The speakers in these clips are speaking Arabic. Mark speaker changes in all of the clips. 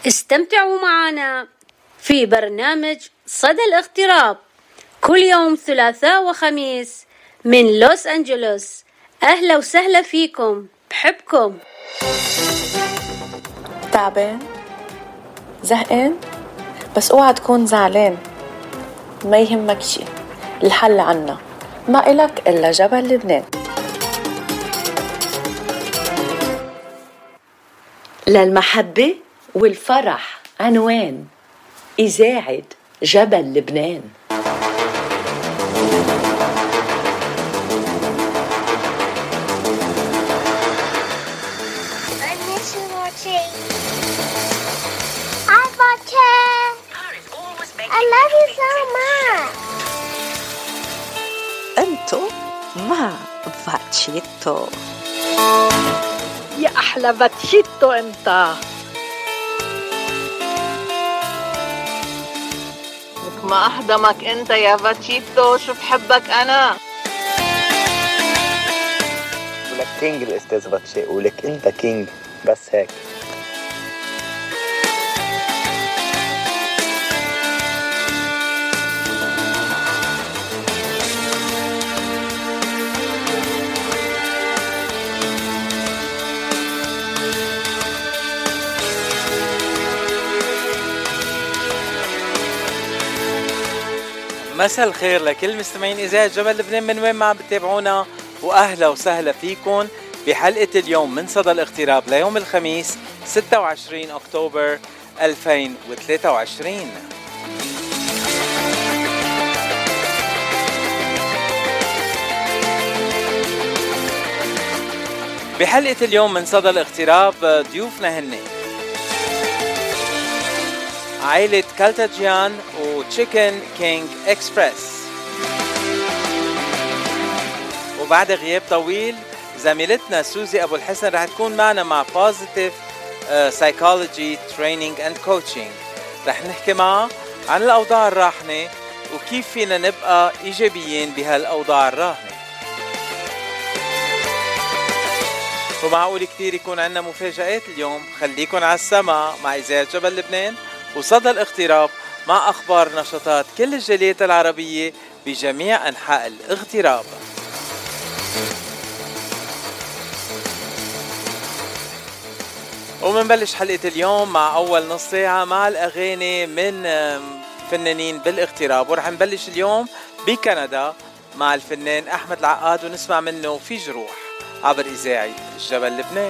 Speaker 1: استمتعوا معنا في برنامج صدى الاغتراب كل يوم ثلاثاء وخميس من لوس أنجلوس. أهلا وسهلا فيكم، بحبكم.
Speaker 2: تعبان؟ زهقان؟ بس اوعى تكون زعلان، ما يهمك شي، الحل عنا، ما إلك إلا جبل لبنان.
Speaker 3: للمحبة والفرح عنوان إذاعة جبل لبنان.
Speaker 4: I love you so much.
Speaker 5: أنتو مع باتشيتو.
Speaker 6: يا أحلى باتشيتو أنت.
Speaker 7: ما أحضمك أنت يا باتشيتو، شو بحبك أنا.
Speaker 8: ولك كينج الأستاذ باتشي، ولك أنت كينج، بس هيك.
Speaker 9: مساء الخير لكل مستمعين إذاعة جبل لبنان من وين ما بتتابعونا، وأهلا وسهلا فيكم بحلقة اليوم من صدى الاغتراب ليوم الخميس 26 أكتوبر 2023. بحلقة اليوم من صدى الاغتراب ضيوفنا هن عائلة كالتاجيان وتشيكن كينج اكسبرس، وبعد غياب طويل زميلتنا سوزي أبو الحسن رح تكون معنا مع Positive Psychology Training and Coaching. رح نحكي معها عن الأوضاع الراهنة وكيف فينا نبقى إيجابيين بهالأوضاع الراهنة. ومعقول كتير يكون عنا مفاجآت اليوم، خليكن على السماء مع إذاعة جبل لبنان وصدى الاغتراب مع أخبار نشاطات كل الجاليات العربية بجميع أنحاء الاغتراب. ومنبلش حلقة اليوم مع أول نص ساعة مع الأغاني من فنانين بالاغتراب، ورح نبلش اليوم بكندا مع الفنان أحمد العقاد ونسمع منه في جروح عبر إذاعة جبل لبنان.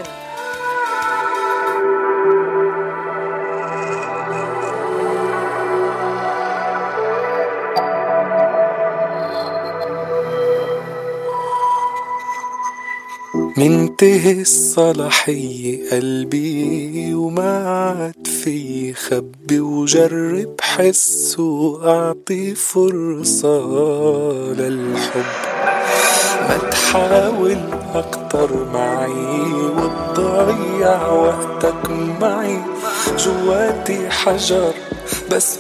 Speaker 10: منتهي الصلاحية قلبي وما عاد في خبي، وجرب حس وأعطي فرصة للحب. ما تحاول أكتر معي وتضيع وقتك معي، جواتي حجر بس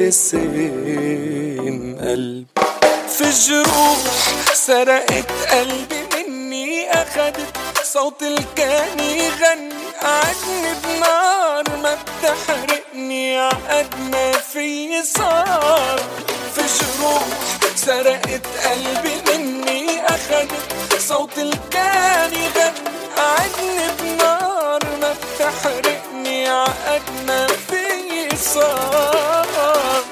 Speaker 10: بالاسم قلب. في جروح سرقت قلبي مني، أخدت صوت الكان يغني، قعدني بنار ما بتحرقني، عقد ما في صار. في جروح سرقت قلبي مني، أخدت صوت الكان يغني، قعدني بنار ما بتحرقني، عقد ما في صار.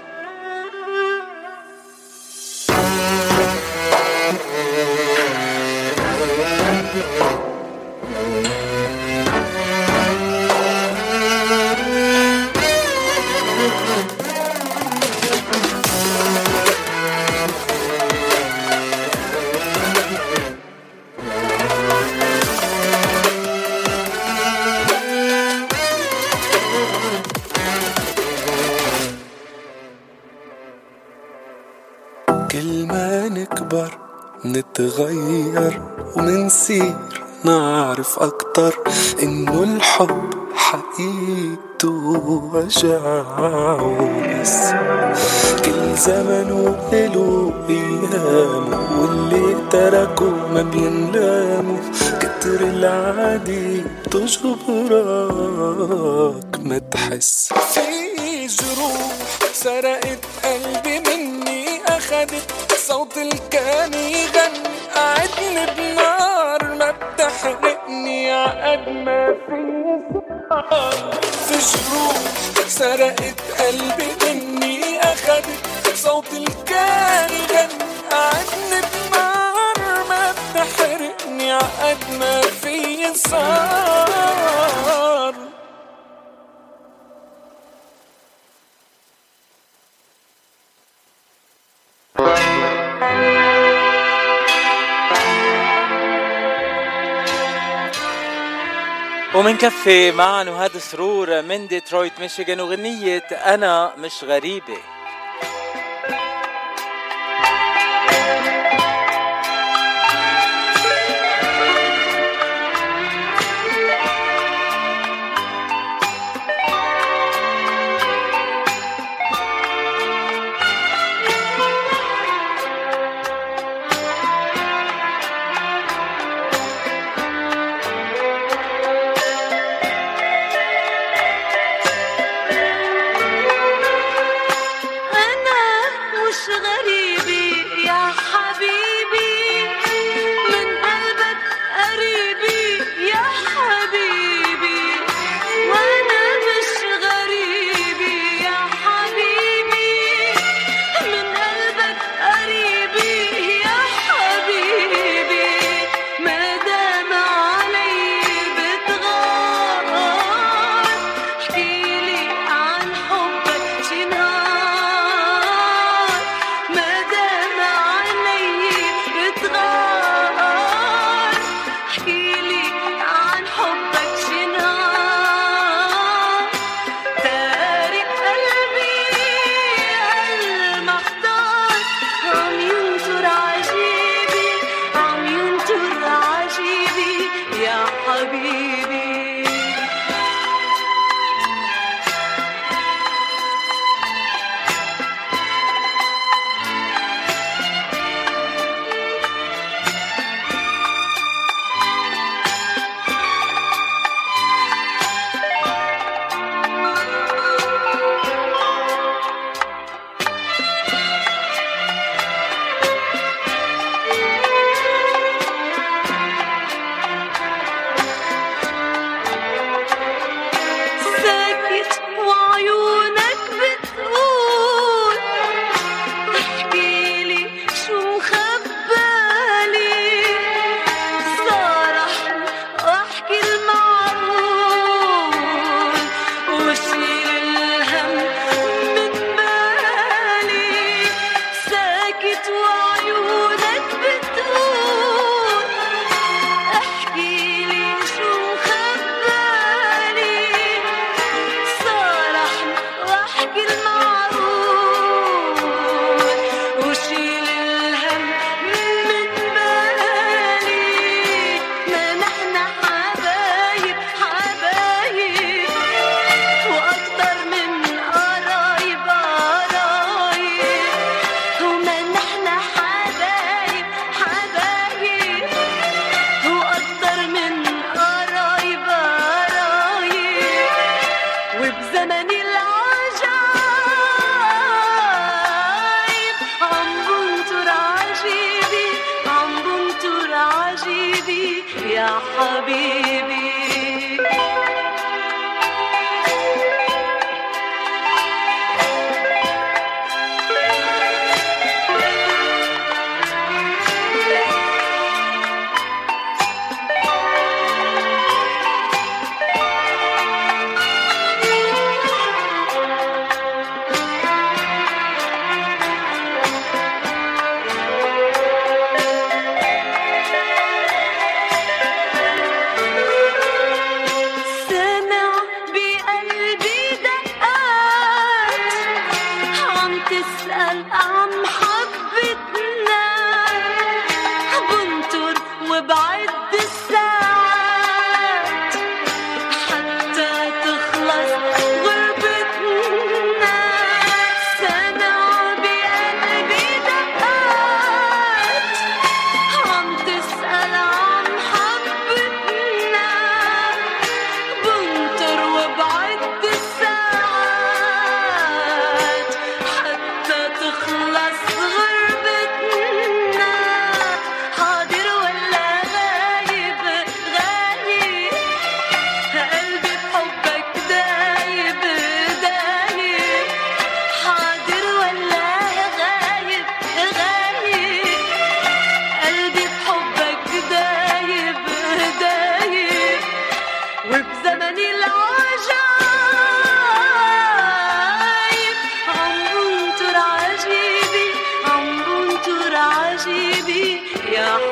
Speaker 10: كل ما نكبر نتغير ومنصير نعرف أكتر إنه الحب حقيقته وجع وبس. كل زمنه إله أيامه، واللي تركه ما بينلامه. كتر العادي تجبرك ما تحس. في جروح سرقت قلبي مني، أخدت صوت الكان يغني. قعدني بنار ما بتحرقني عقد ما في صار. في جروح سرقت قلبي مني، أخدت صوت الكان يغني. قعدني بنار ما بتحرقني عقد ما في صار.
Speaker 9: ومنكفي معا وهذا سرور من ديترويت ميشيغان وغنية أنا مش غريبة.
Speaker 11: غربتنا سنة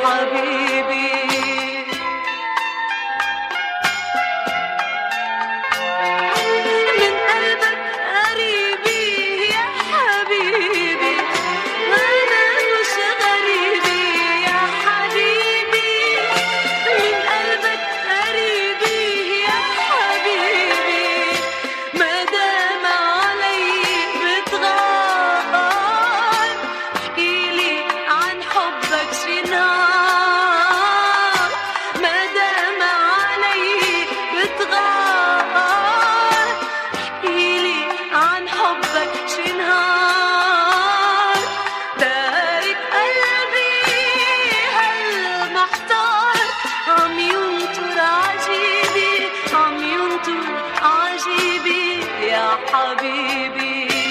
Speaker 11: حبيبي. من قلبك قريبي يا حبيبي، أنا مش غريبي يا حبيبي. من قلبك قريبي يا حبيبي، ما دام علي بتغار احكيلي عن حبك شي نهار. ما دام علي بتغار احكيلي عن حبك شي نهار. تارك قلبي هالمحتار عم ينطر عجيبي، عم ينطر عجيبي يا حبيبي.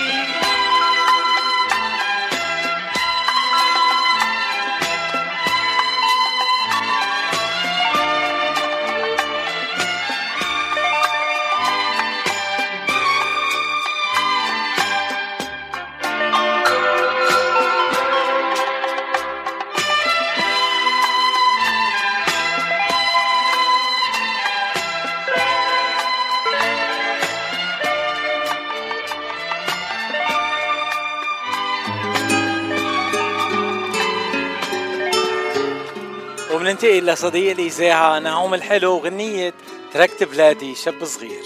Speaker 9: وبننتقل لصديق الإذاعة نعوم الحلو وغنية تركت بلادي شاب صغير.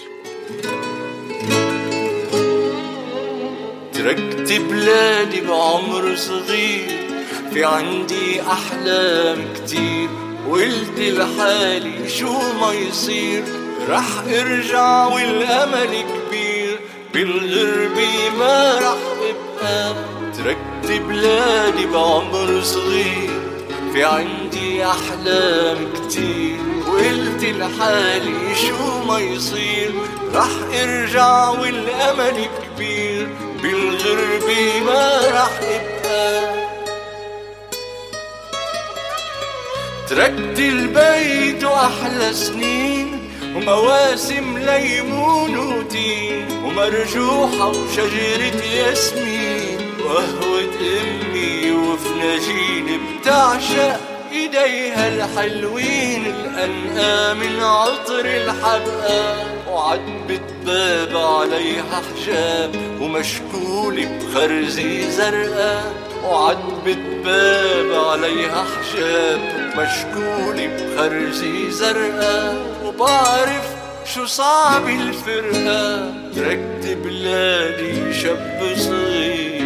Speaker 12: تركت بلادي بعمر صغير، في عندي أحلام كتير، وقلت لحالي شو ما يصير رح ارجع والأمل كبير، بالغربة ما رح ابقى. تركت بلادي بعمر صغير، في عندي أحلام كتير، وقلت لحالي شو ما يصير رح ارجع والأمل كبير، بالغربة ما رح ابقى. تركت البيت وأحلى سنين، ومواسم ليمون وتين، ومرجوحة وشجرة ياسمين، وقهوة أمي وفناجين بتعشق إيديها الحلوين، الأنقام العطر الحدقة، وعتبة باب عليها حجاب ومشكولة بخرزة زرقاء. وعتبة باب عليها حجاب ومشكولة بخرزة زرقاء، وبعرف شو صعب الفرقة. تركت بلادي شاب صغير.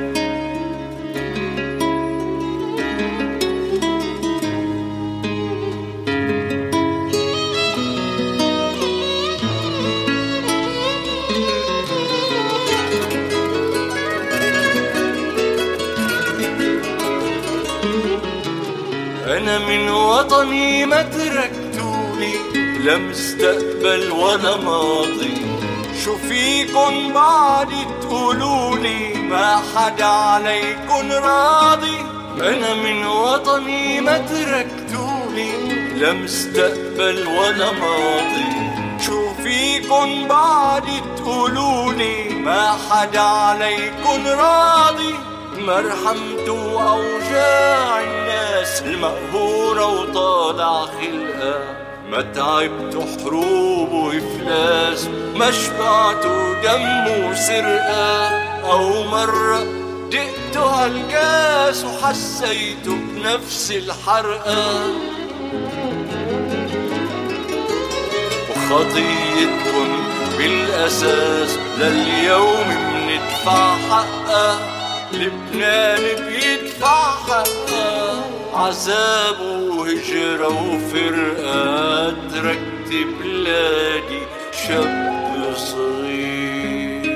Speaker 12: أنا من وطني ما تركتولي، لا مستقبل ولا ماضي، شو فيكن بعد تقولولي ما حدا عليكن راضي. أنا من وطني ما تركتولي، لا مستقبل ولا ماضي، شو فيكن بعد تقولولي ما حدا عليكن راضي. مرحمتوا أوجاع الناس المقهورة وطالع خلقها، ما تعبتوا حروب وإفلاس، ما شبعتوا دم وسرقة، أو مرة دقتوا هالكاس وحسيتوا بنفس الحرقة. وخطيتكن بالأساس لليوم بندفع حقها، لبنان بيدفع حقها، عذاب وهجرة وفرقة. تركت بلادي شاب صغير.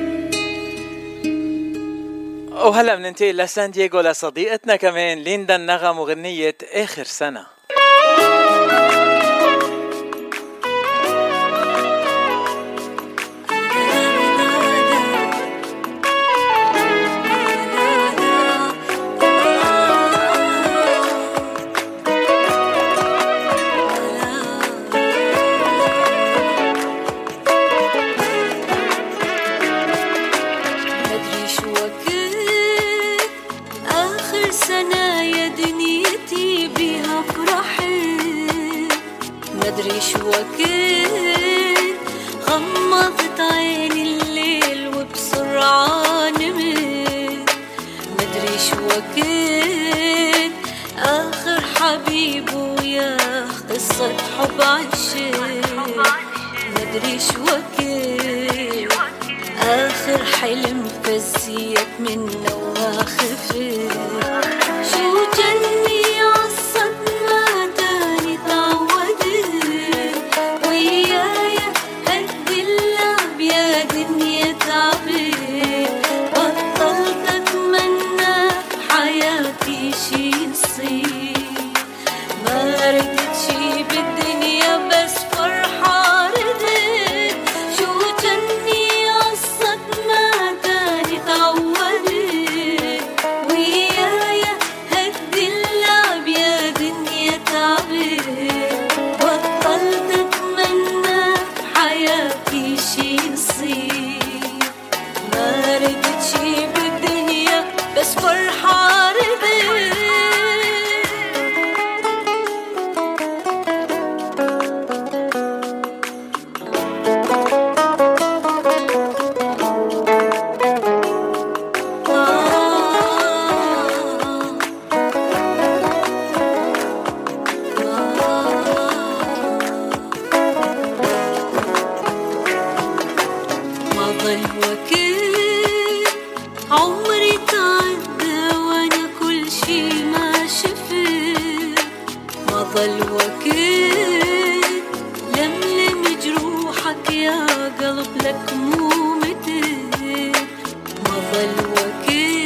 Speaker 9: وهلا بننتقل لسان دييغو لصديقتنا كمان ليندا النغم وغنية آخر سنة.
Speaker 11: آخر سنة يا دنيتي وكنت غمضت عيني الليل وبسرعة نمت. مدري شو وكنت آخر حبيب وياه قصة حب عشت. مدري شو وكنت آخر حلم فزيت منه وما خفت. شو جني عالصدمة تاني تعودت ويايا هد اللعب يا دنيا تعبت. بطلت أتمنى بحياتي شي يصير. ما ردت شي بالدنيا بس فرحة ردت. شو جني عالصدمة تاني تعودت ويايا هد اللعب يا دنيا تعبت. بطلت أتمنى بحياتي شي يصير. ما ردت شي بالدنيا بس فرحة ردت. ما ضل وقت عمري تعدى وانا كل شي ما شفت. ما ضل وقت لملم جروحك يا قلب لك مو متت. ما ضل وقت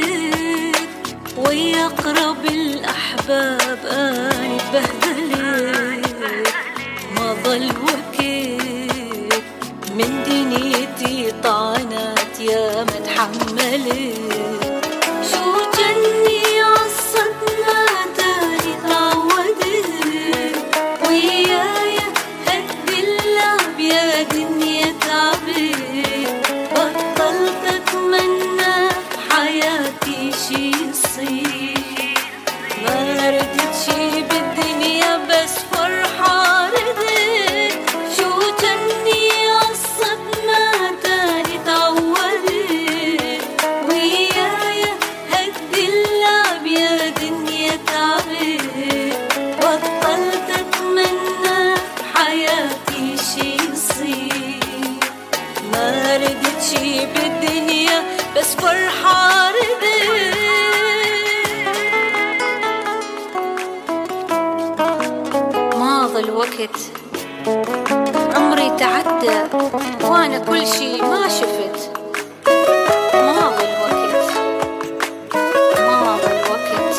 Speaker 11: ويا أقرب الأحباب أنا اتبهدلت. ما ضل وقت من دنيتي طعنت يا ما تحملت. شو جني عالصدمة تاني تعودت ويايا هد اللعب يا دنيا تعبت. بطلت أتمنى بحياتي شي يصير. ما ردت شي بالدنيا بس فرحة ردت. شو جني عالصدمة تاني تعودت ويايا هد اللعب يا دنيا تعبت. بطلت أتمنى بحياتي شي يصير. ما ردت شي بالدنيا بس فرحة ردت. ما ضل وقت عمري تعدى وانا كل شي ما شفت. ما ضل وقت ما ضل وقت.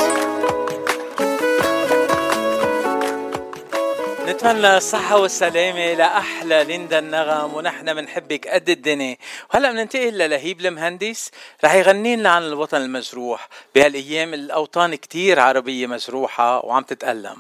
Speaker 9: نتمنى الصحة والسلامة لأحلى ليندا النغم، ونحن منحبك قد الدنيا. وهلأ مننتقل للهيب المهندس رح يغني لنا عن الوطن المجروح. بهالأيام الأوطان كتير عربية مجروحة وعم تتألم.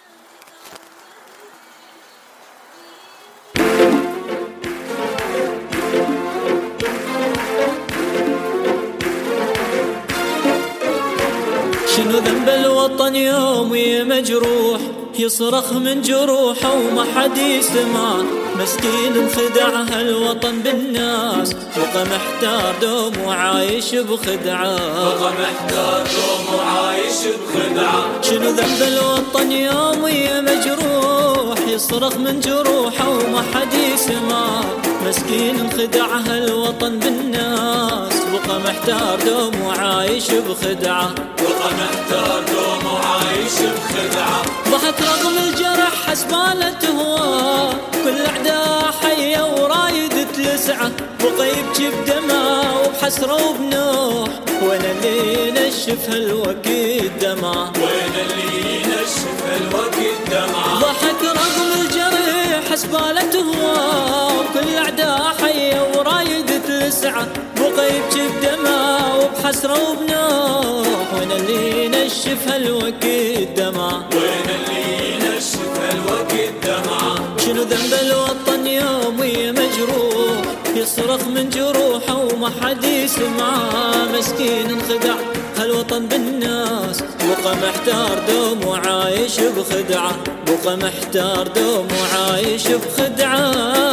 Speaker 13: شنو ذنب الوطن يوم مجروح يصرخ من جروحه وما حد يسمع. مسكين انخدع هالوطن بالناس بقى محتار دوم وعايش بخدعة. بقى محتار دوم وعايش بخدعة. شنو ذنب الوطن يوم مجروح يصرخ من جروحه وما حد يسمع. مسكين انخدع هالوطن بالناس بقى محتار دوم وعايش بخدعة. بقى محتار دوم وعايش بخدعة. ضحك رغم الجرح حسبالة هواه كل أعداء حية ورايد تلسعه. بقى يبكي بدمعه وبحسرة وبنوح. وين اللي نشف هالوقت دمعه. وين اللي نشف هالوقت دمعه. ضحك رغم الجرح حسبالة هواه كل أعداء حية ورايد تلسعه. بقى يبكي بدمعه وبحسرة وبنوح. وين اللي نشف هالوقت دمعه. وين اللي نشف هالوقت دمعه. شنو ذنب الوطن يومي مجروح يصرخ من جروحه وما حد يسمعه. مسكين انخدع هالوطن هالوطن بالناس، بقى محتار دوم وعايش بخدعة، بقى محتار دوم وعايش بخدعة.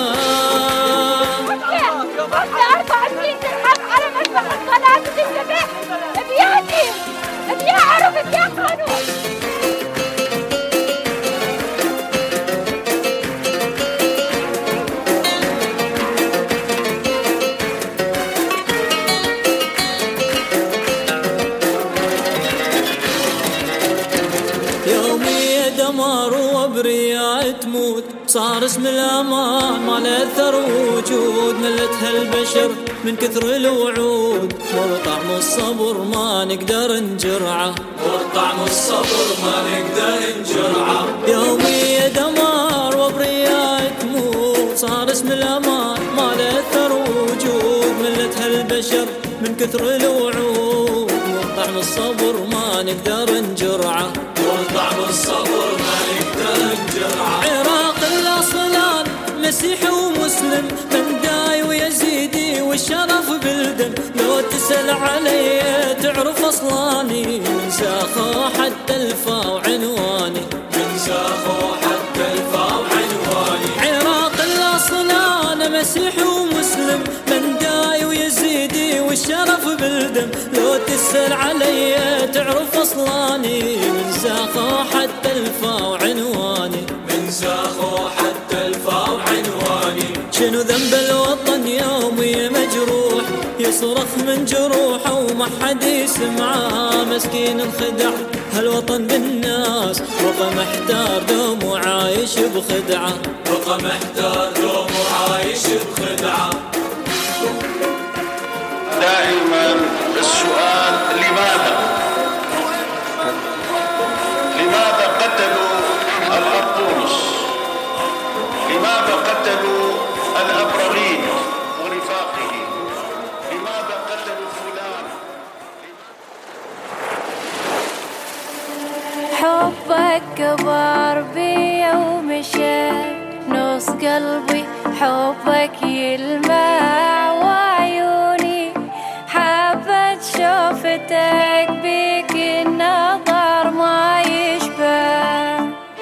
Speaker 4: بعد 4 سنين تنحط على مذبح الصلاة وتنذبح بياتي بيا عرف بيا قانون.
Speaker 13: يومي دمار وبرياء تموت، صار اسم الأمان ما له أثر وجود، ملت هالبشر من كثر الوعود، مر طعم الصبر ما نقدر نجرعه، مر طعم الصبر ما نقدر نجرعه. يومي دمار وبرياء تموت، صار اسم الأمان ما له أثر وجود، ملت هالبشر من كثر الوعود، مر طعم الصبر ما نقدر نجرعه، طعم الصبر ما نقدر نجرعه. عراق الأصلان مسيحي ومسلم، من داي ويزيدي والشرف بالدم، لو تسأل علي تعرف أصلاني، من ساخو حتى الفا وعنواني، من ساخو حتى الفا وعنواني. عراق الأصلان مسيحي ومسلم، من داي ويزيدي والشرف بالدم، لو تسأل علي تعرف أصلاني، من ساخو حتى الفا وعنواني، من ساخو حتى الفا وعنواني. شنو ذنب الوطن يومي مجروح، يصرخ من جروحه وما حد يسمعه، مسكين انخدع هالوطن بالناس، بقى محتار دوم وعايش بخدعة، بقى محتار دوم وعايش بخدعة.
Speaker 14: دائما السؤال لماذا قتلوا الأرطونس؟ لماذا قتلوا الأبرغين ورفاقه؟ لماذا قتلوا فلان؟
Speaker 11: حبك كبر بي ومشى نص قلبي، حبك يلمع وعيوني، حبت شوفتك بيك النظر ما يشبه.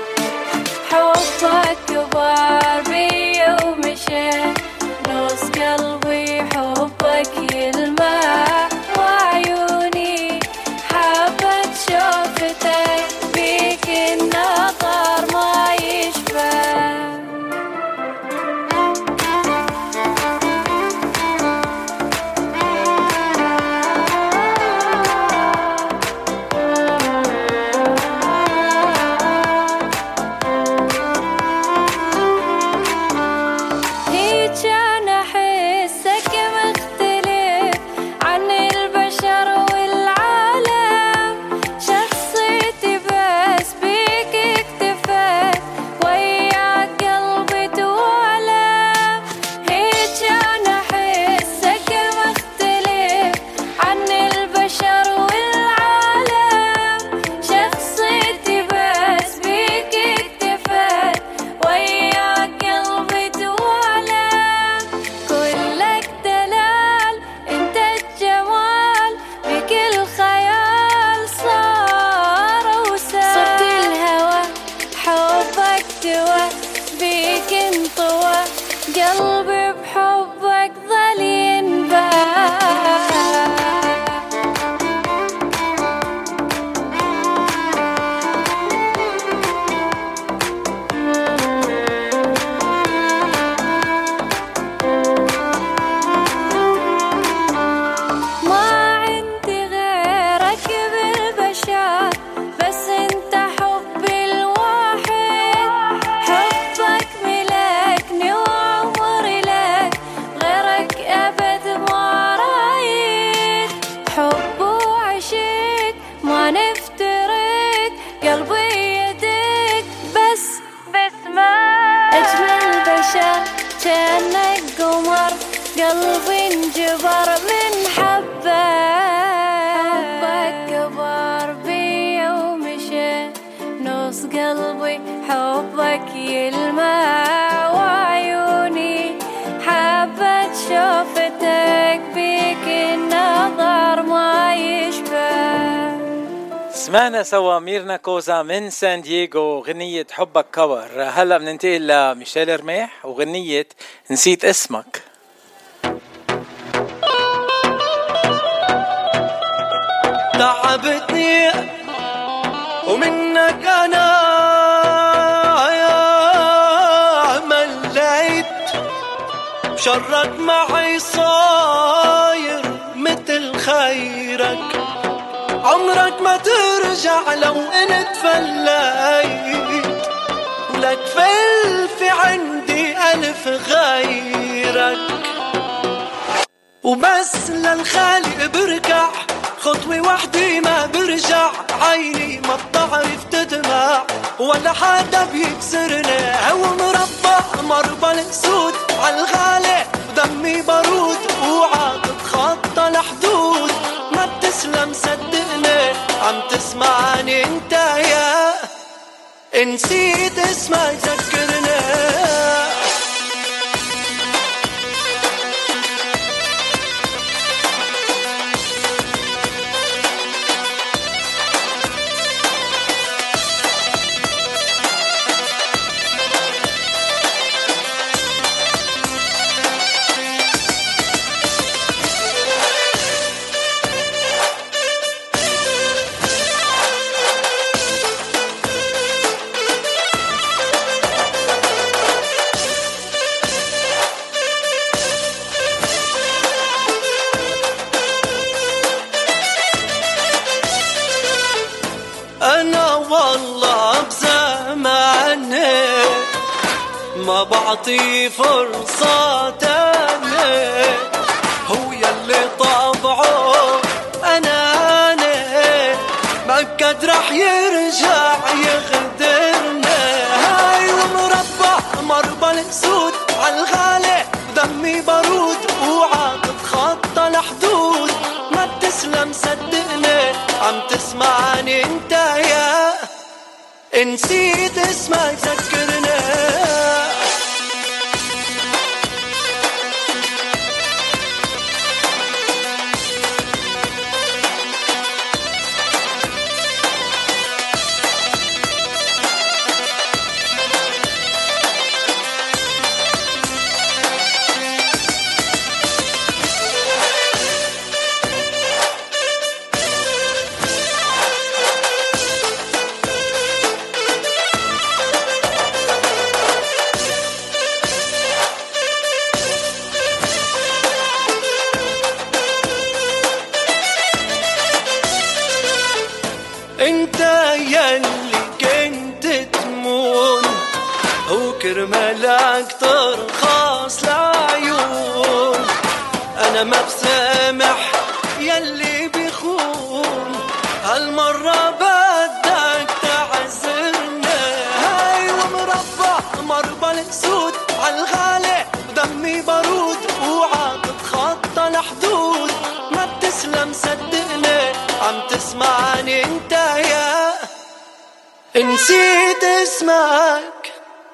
Speaker 11: حبك كبر بي ومشى نص قلبي، حبك يلمع وعيوني، حبت شوفتك بيك النظر ما يشبه. قلبي بحبك ظل ينباع. كأنك قمر قلبي انجبر من حبك. حبك كبر بي ومشى نص قلبي، حبك يلمع وعيوني، حبت شوفتك بيك النظر ما
Speaker 9: سمعنا سوا ميرنا كوزا من سان دييغو غنية حبك كور. هلأ بننتقل لميشيل رميح وغنية نسيت اسمك.
Speaker 15: تعبتني ومنك أنا مليت شرك معي صاير مثل خيرك عمرك ما ترجع لو انت فليت لك في عندي ألف غيرك وبس للخالق بركع خطوة وحدي ما برجع عيني ما بتعرف تدمع ولا حدا بيكسرني هو مربع مربى الاسود عالغالي ودمي بارود اوعى تتخطى الحدود ما بتسلم صدقني عم تسمعني انت يا نسيت اسمك ذكرني ما بعطي فرصة تاني هو يلي طبعه أنا ما قد رح يرجع يغدرنا هاي ومربع مربى الاسود عالغالي ودمي بارود اوعى تتخطى الحدود ما بتسلم صدقني عم تسمعني انت يا نسيت اسمك ذكرني انت يلي كنت تمون وكرمالك ترخص العيون انا ما بسامح يلي بيخون هالمرة بدك تعذرنا هاي ومربع مربى الاسود عالغالي ودمي بارود اوعى تتخطى الحدود ما بتسلم صدقني عم تسمعني انت يا نسيت اسمك.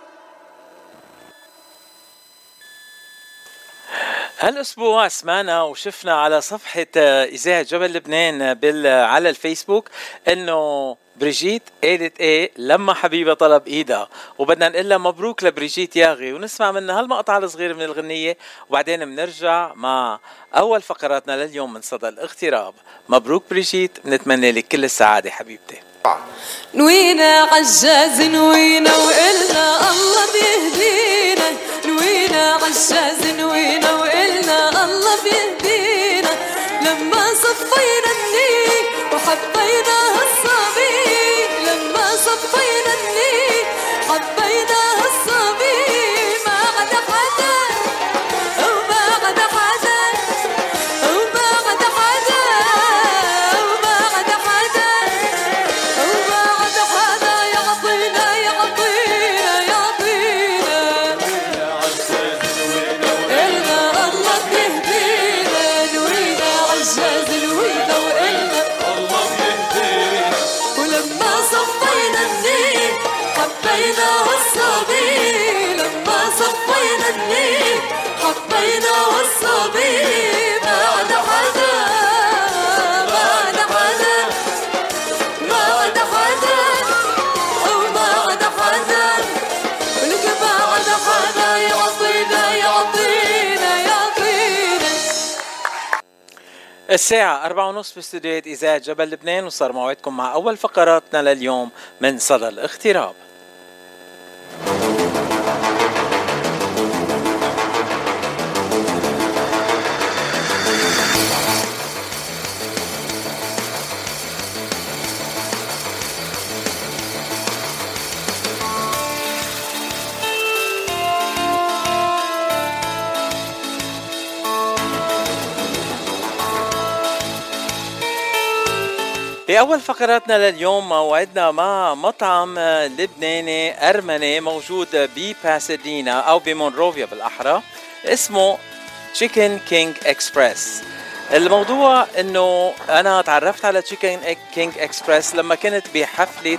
Speaker 9: هالأسبوع سمعنا وشفنا على صفحة إذاعة جبل لبنان على الفيسبوك إنه بريجيت قالت إيه لما حبيبة طلب إيدها وبدنا نقلها مبروك لبريجيت ياغي ونسمع منها هالمقطع الصغير من الغنية وبعدين بنرجع مع أول فقراتنا لليوم من صدى الاغتراب. مبروك بريجيت بنتمنى لك كل السعادة حبيبتي.
Speaker 11: نوينا عجاز نوينا وإلنا الله بيهدينا نوينا عجاز نوينا وإلنا الله بيهدينا لما صفينا النيل وحبينا هالصبي لما صفينا النيل حبينا هالصبي ما عاد حدا وما عاد حدا وما عاد حدا وما عاد حدا وما عاد حدا يعطينا يعطينا يعطينا إلنا الله بيهدينا نوينا عجاز نوينا وإلنا الله بيهدينا ولما صفينا النيل حبينا هالصبي لما صفينا النيل حبينا هالصبي ما عاد حدا ما عاد حدا ما
Speaker 9: الساعة 4:30 باستديوهات إذاعة جبل لبنان، وصار موعدكم مع أول فقراتنا لليوم من صدى الاغتراب. بأول فقراتنا لليوم موعدنا مع مطعم لبناني أرمني موجود بباسادينا أو بمونروفيا بالأحرى، اسمه Chicken King Express. الموضوع إنه أنا تعرفت على Chicken King Express لما كنت بحفلة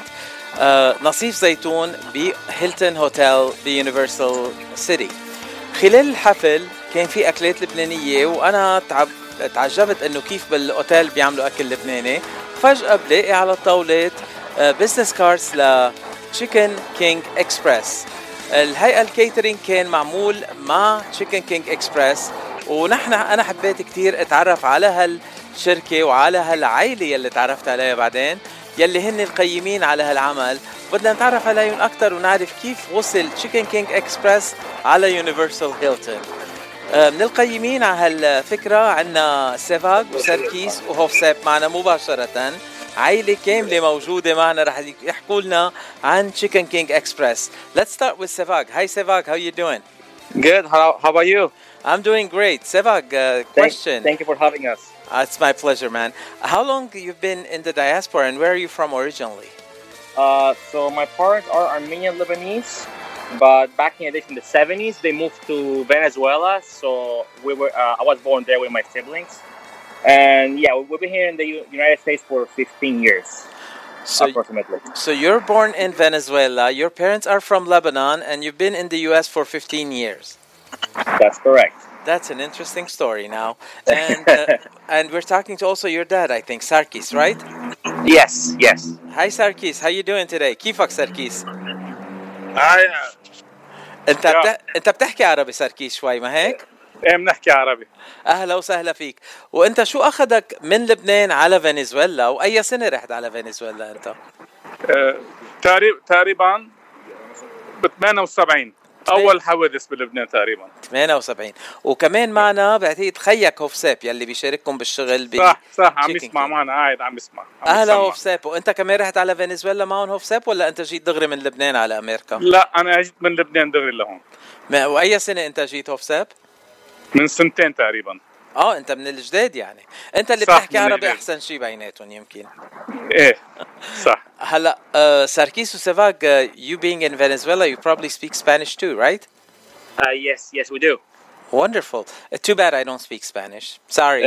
Speaker 9: نصيف زيتون بهيلتون هوتيل بيونيفرسال سيتي. خلال الحفل كان في أكلات لبنانية، وأنا تعجبت إنه كيف بالأوتيل بيعملوا أكل لبناني. فجأة بلاقي على الطاولات بيزنس كاردز ل Chicken King Express. الهيئة الكيترينج كان معمول مع Chicken King Express، أنا حبيت كتير أتعرف على هالشركة وعلى هالعائلة يلي تعرفت عليها بعدين، يلي هن القيمين على هالعمل. بدنا نتعرف عليهم أكتر ونعرف كيف وصل Chicken King Express على يونيفرسال هيلتون. من القيمين على هالفكرة عنا سيفاغ وسركيس وهوفساب معنا مباشرة، عائلة كاملة موجودة معنا رح يحكوا لنا عن Chicken King Express. Let's start with Sevag. Hi Sevag, how are you doing?
Speaker 8: Good. How about you?
Speaker 9: I'm doing great. Sevag, question.
Speaker 8: Thank you for having us.
Speaker 9: It's my pleasure, man. How long you've been in the diaspora and where are you from originally?
Speaker 8: So my parents are Armenian Lebanese, but back in the 70s they moved to Venezuela. So I was born there with my siblings, and yeah, we've been here in the United States for 15 years, approximately.
Speaker 9: So you're born in Venezuela. Your parents are from Lebanon, and you've been in the U.S. for 15 years.
Speaker 8: That's correct.
Speaker 9: That's an interesting story now, and we're talking to also your dad, I think, Sarkis, right?
Speaker 8: Yes.
Speaker 9: Hi Sarkis, how you doing today? كيفك ساركيس؟ انت بتحكي عربي ساركيس شوي ما هيك؟
Speaker 16: ايه بنحكي عربي.
Speaker 9: اهلا وسهلا فيك. وانت شو اخذك من لبنان على فنزويلا، واي سنه رحت على فنزويلا انت؟
Speaker 16: تقريبا ب 78 اول حوادث بلبنان تقريبا
Speaker 9: 78. وكمان معنا بعتقد خيك هوفساب يلي بيشارككم بالشغل
Speaker 16: صح عم يسمع معنا، قاعد عم يسمع.
Speaker 9: اهلا هوفساب. وانت كمان رحت على فنزويلا معهم هوفساب ولا انت جيت دغري من لبنان على امريكا؟
Speaker 16: لا انا جيت من لبنان دغري لهون.
Speaker 9: واي سنه انت جيت هوفساب؟
Speaker 16: من سنتين تقريبا.
Speaker 9: انت من الجداد يعني، انت اللي بتحكي عربي احسن شيء بيناتهم يمكن.
Speaker 16: ايه صح.
Speaker 9: هلا ساركيس وسيفاغ, you being in Venezuela you probably speak Spanish too, right?
Speaker 8: Yes we do.
Speaker 9: Wonderful. Too bad I don't speak Spanish. Sorry.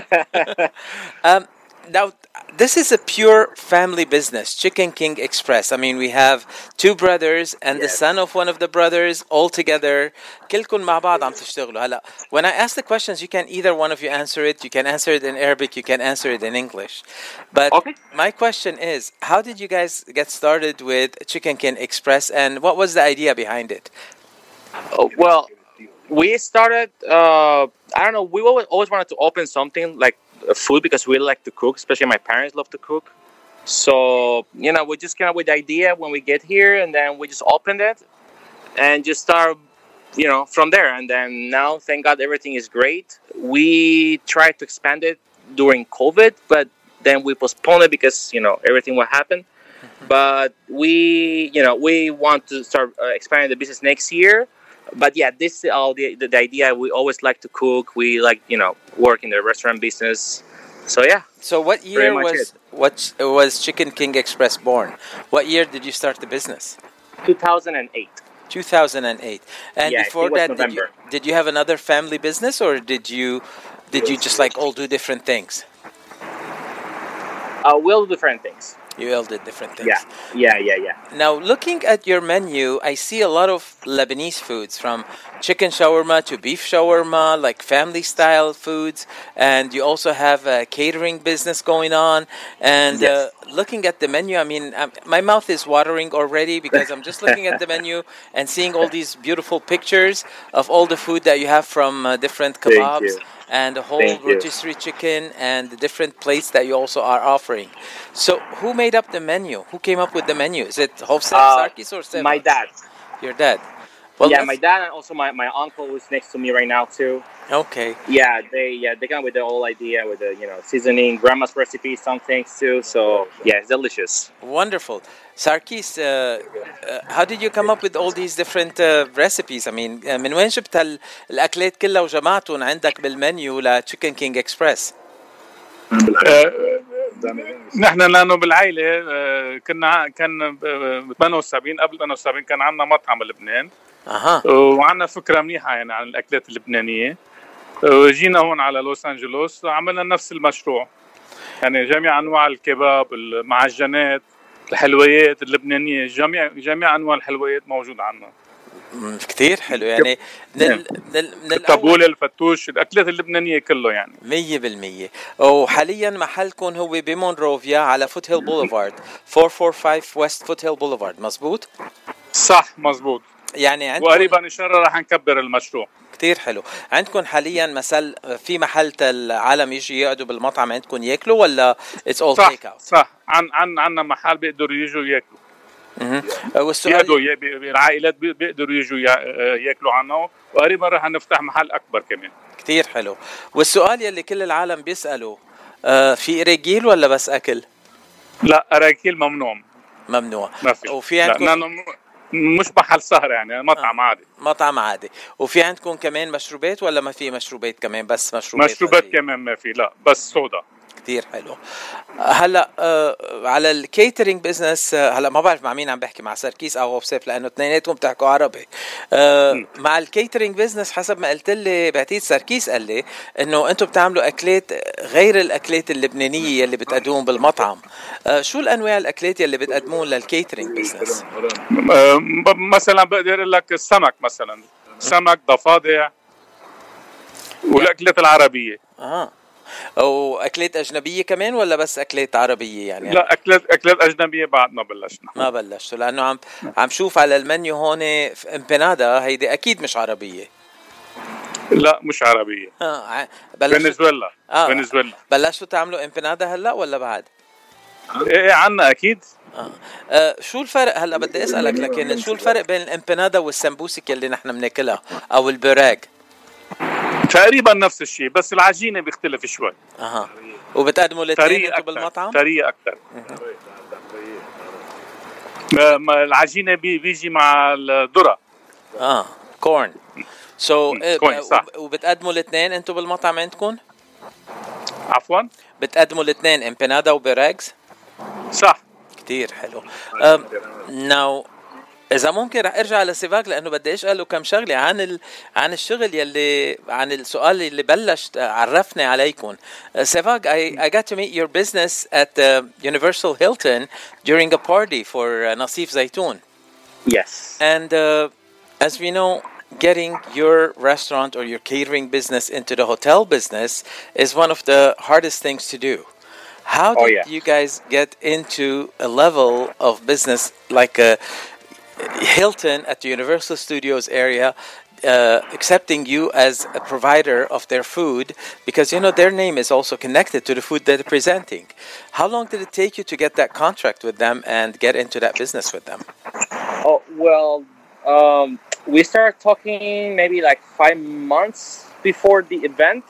Speaker 9: Now, this is a pure family business, Chicken King Express. I mean, we have two brothers and the son of one of the brothers all together. كلكم مع بعض عم تشتغلوا. هلا, when I ask the questions, you can either one of you answer it. You can answer it in Arabic. You can answer it in English. But my question is, how did you guys get started with Chicken King Express, and what was the idea behind it?
Speaker 8: Well, we started. I don't know. We always wanted to open something like food because we like to cook, especially my parents love to cook. So, we just came up with the idea when we get here, and then we just opened it and just start, from there. And then now, thank God, everything is great. We tried to expand it during COVID, but then we postponed it because, everything will happen. But we want to start expanding the business next year. But yeah, this is all the idea. We always like to cook. We like, work in the restaurant business. So yeah.
Speaker 9: So what year was Chicken King Express born? What year did you start the business?
Speaker 8: 2008.
Speaker 9: 2008. And before that, did you have another family business, or did you just all do different things?
Speaker 8: We'll do different things.
Speaker 9: You all did different things.
Speaker 8: Yeah.
Speaker 9: Now, looking at your menu, I see a lot of Lebanese foods, from chicken shawarma to beef shawarma, like family-style foods. And you also have a catering business going on. And looking at the menu, I mean, my mouth is watering already because I'm just looking at the menu and seeing all these beautiful pictures of all the food that you have, from different kebabs and the whole
Speaker 8: Thank you.
Speaker 9: rotisserie chicken and the different plates that you also are offering. So who made up the menu? Who came up with the menu? Is it Hovsep Sarkis or Seva?
Speaker 8: My dad.
Speaker 9: Your dad? Well,
Speaker 8: Yeah, my dad and also my uncle who's next to me right now too.
Speaker 9: Okay.
Speaker 8: They come up with the whole idea with the seasoning, grandma's recipe, some things too. So yeah, it's delicious.
Speaker 9: Wonderful. Sarkis, how did you come up with all these different recipes? I mean, من وين جبت الأكلات كلها وجمعتهم عندك بالمنيو لتشيكن كينج إكسبرس؟
Speaker 16: نحن لانه بالعائله كان ب 78 قبل 78 كان عندنا مطعم بلبنان. وعندنا فكره منيحه يعني عن الاكلات اللبنانيه. وجينا هون على لوس أنجلوس وعملنا نفس المشروع، يعني جميع انواع الكباب، المعجنات، الحلويات اللبنانيه، جميع انواع الحلويات موجود عندنا.
Speaker 9: كتير حلو يعني من
Speaker 16: الطابولة، الفتوش، الأكلات اللبنانية كله يعني
Speaker 9: 100%. وحاليا محلكم هو بمونروفيا على فوت هيل بوليفارد 445 ويست فوت هيل بوليفارد، مزبوط؟
Speaker 16: صح مزبوط.
Speaker 9: يعني عندكم
Speaker 16: وقريبا إن شاء الله رح نكبر المشروع.
Speaker 9: كتير حلو. عندكم حاليا مثل في محل العالم يجي يقعدوا بالمطعم عندكم ياكلوا ولا it's all take out؟
Speaker 16: صح. عنا محل بيقدروا يجوا ياكلوا.
Speaker 9: والسؤال
Speaker 16: العائلات بيقدروا يجوا ياكلوا عنه، وقريبا رح نفتح محل أكبر كمان.
Speaker 9: كتير حلو. والسؤال يلي كل العالم بيسألوا، في إراجيل ولا بس أكل؟
Speaker 16: لا، أراجيل ممنوع.
Speaker 9: ما في. وفي عندكم
Speaker 16: مش محل سهر يعني مطعم عادي.
Speaker 9: مطعم عادي. وفي عندكم كمان مشروبات ولا ما في مشروبات كمان؟ بس
Speaker 16: مشروبات كمان ما في، لا بس صودا.
Speaker 9: كتير حلو. هلا على الكيترينج بزنس، هلا ما بعرف مع مين عم بحكي، مع ساركيس او هوفسيف لانه اثنيناتهم بتحكوا عربي. مع الكيترينج بزنس حسب ما قلت لي بعتيد ساركيس قال لي انه انتم بتعملوا اكلات غير الاكلات اللبنانيه اللي بتقدمون بالمطعم. شو الانواع الاكلات اللي بتقدمون للكيترينج بزنس؟
Speaker 16: مثلا بقدر اقول لك السمك، مثلا سمك، ضفادع، والاكلات العربيه.
Speaker 9: واكلات اجنبيه كمان ولا بس اكلات عربيه يعني؟
Speaker 16: لا، اكلات اجنبيه بعد ما
Speaker 9: بلشتوا لانه عم شوف على المنيو هون امبنادا، هيدي اكيد مش عربيه.
Speaker 16: لا مش عربيه. فنزويلا. فنزويلا.
Speaker 9: بلشتوا تعملوا امبنادا هلا ولا بعد؟
Speaker 16: ايه عنا اكيد.
Speaker 9: شو الفرق هلا بدي اسالك، لكن شو الفرق بين الامبنادا والسمبوسك اللي نحن بناكلها او البراج؟
Speaker 16: تقريبا نفس الشيء، بس العجينه بيختلف شوي.
Speaker 9: وبتقدموا الاثنين انتم بالمطعم؟
Speaker 16: طريقه اكثر. العجينه بيجي مع الذره.
Speaker 9: كورن.
Speaker 16: صح.
Speaker 9: وبتقدموا الاثنين انتم بالمطعم عندكم؟
Speaker 16: عفوا؟
Speaker 9: بتقدموا الاثنين امبنادا وبراجز؟
Speaker 16: صح.
Speaker 9: كتير حلو. ناو إذا ممكن رح أرجع لسيفاك لأنه بدي أسأله كم شغلة عن الشغل يلي عن السؤال اللي بلش عرفني عليكم. سيفاك, I got to meet your business at Universal Hilton during a party for Nasif Zaytoun.
Speaker 8: Yes.
Speaker 9: And as we know, getting your restaurant or your catering business into the hotel business is one of the hardest things to do. How did you guys get into a level of business like a Hilton at the Universal Studios area accepting you as a provider of their food, because you know their name is also connected to the food that they're presenting? How long did it take you to get that contract with them and get into that business with them?
Speaker 8: Oh, well, we started talking maybe like 5 months before the event.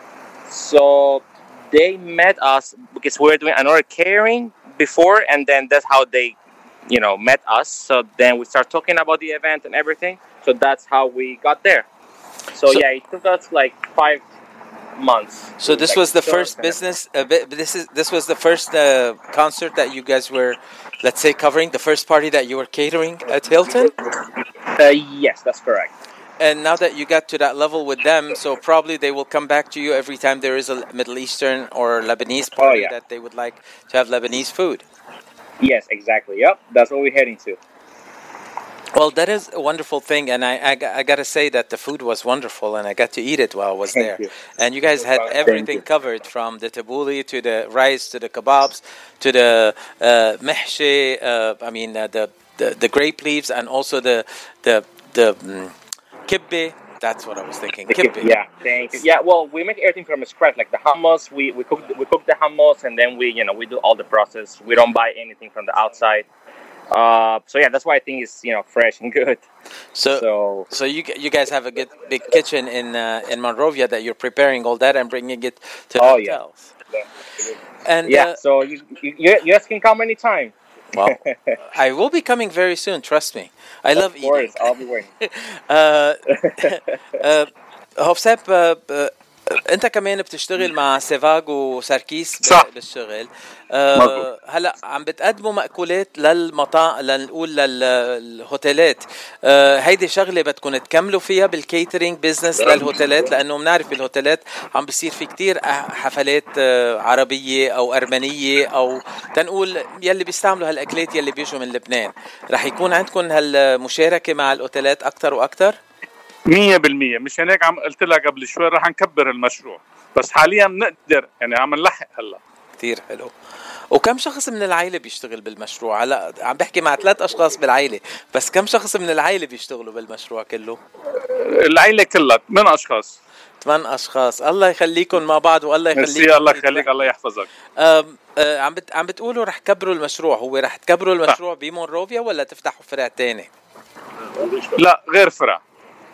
Speaker 8: So they met us because we were doing another catering before, and then that's how they met us. So then we start talking about the event and everything. So that's how we got there. So yeah, it took us like 5 months.
Speaker 9: So this was the first business. This was the first concert that you guys were, let's say, covering. The first party that you were catering at Hilton.
Speaker 8: Yes, that's correct.
Speaker 9: And now that you got to that level with them, so probably they will come back to you every time there is a Middle Eastern or Lebanese party that they would like to have Lebanese food.
Speaker 8: Yes, exactly. Yep, that's what we're heading to.
Speaker 9: Well, that is a wonderful thing, and I got to say that the food was wonderful, and I got to eat it while I was there. And you guys had everything covered, from the tabbouleh to the rice to the kebabs to the mehshi. The grape leaves, and also the kibbeh. That's what I was thinking.
Speaker 8: Kibbeh. Yeah, thank you. Yeah, well, we make everything from scratch, like the hummus. We cook the hummus, and then we do all the process. We don't buy anything from the outside. So yeah, that's why I think it's fresh and good.
Speaker 9: So you guys have a good big kitchen in Monrovia that you're preparing all that and bringing it to the hotels.
Speaker 8: Yeah. And so you guys can come anytime.
Speaker 9: Well, I will be coming very soon. Trust me. I love eating. Of course,
Speaker 8: I'll be waiting.
Speaker 9: هوفساب انت كمان بتشتغل مع سيفاغ وساركيس بالشغل. هلا عم بتقدموا مأكولات لنقول للهوتيلات. هيدي شغله بدكم تكملوا فيها بالكيترينج بزنس للهوتيلات، لانه بنعرف بالهوتيلات عم بيصير في كتير حفلات عربيه او ارمنيه او تنقول يلي بيستعملوا هالاكلات يلي بيجوا من لبنان. رح يكون عندكم هالمشاركه مع الاوتيلات اكثر واكثر؟
Speaker 16: 100%. مش هيك عم قلت لك قبل شوي رح نكبر المشروع، بس حاليا بنقدر عم نلحق هلا.
Speaker 9: كثير حلو. وكم شخص من العائله بيشتغل بالمشروع؟ هلا عم بحكي مع 3 أشخاص بالعائله، بس كم شخص من العائله بيشتغلوا بالمشروع كله؟
Speaker 16: العائله كلها 8 أشخاص.
Speaker 9: 8 أشخاص. الله يخليكم مع بعض والله يخليك.
Speaker 16: الله يخليك، الله يحفظك.
Speaker 9: عم بتقولوا رح تكبروا المشروع، هو رح تكبروا المشروع بمونروفيا ولا تفتحوا فرع تاني؟
Speaker 16: لا غير فرع.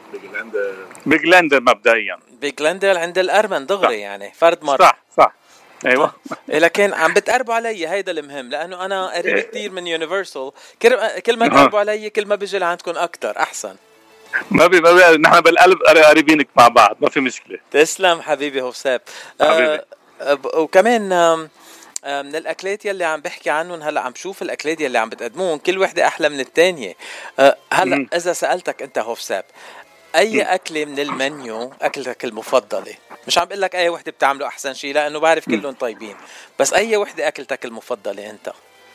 Speaker 16: بيجلاندر مبدئيا.
Speaker 9: بيجلاندر عند الأرمن دغري يعني فرد مرة.
Speaker 16: صح ايوه.
Speaker 9: لكن عم بتقربوا علي، هيدا المهم، لانه انا قريب كثير من يونيفرسال. كل ما تقربوا علي كل ما بيجي لعندكم اكثر احسن.
Speaker 16: ما بي نحن بالقلب قريبينك مع بعض، ما في مشكله.
Speaker 9: تسلم حبيبي هوفساب. وكمان من الاكلات يلي عم بحكي عنهم هلا، عم شوف الاكلات يلي عم بتقدمون كل وحده احلى من الثانيه. هلا اذا سالتك انت هوفساب اي اكله من المنيو اكلتك المفضله؟ مش عم بقول لك اي وحده بتعمله احسن شيء لانه بعرف كلهم طيبين، بس اي وحده اكلتك المفضله انت؟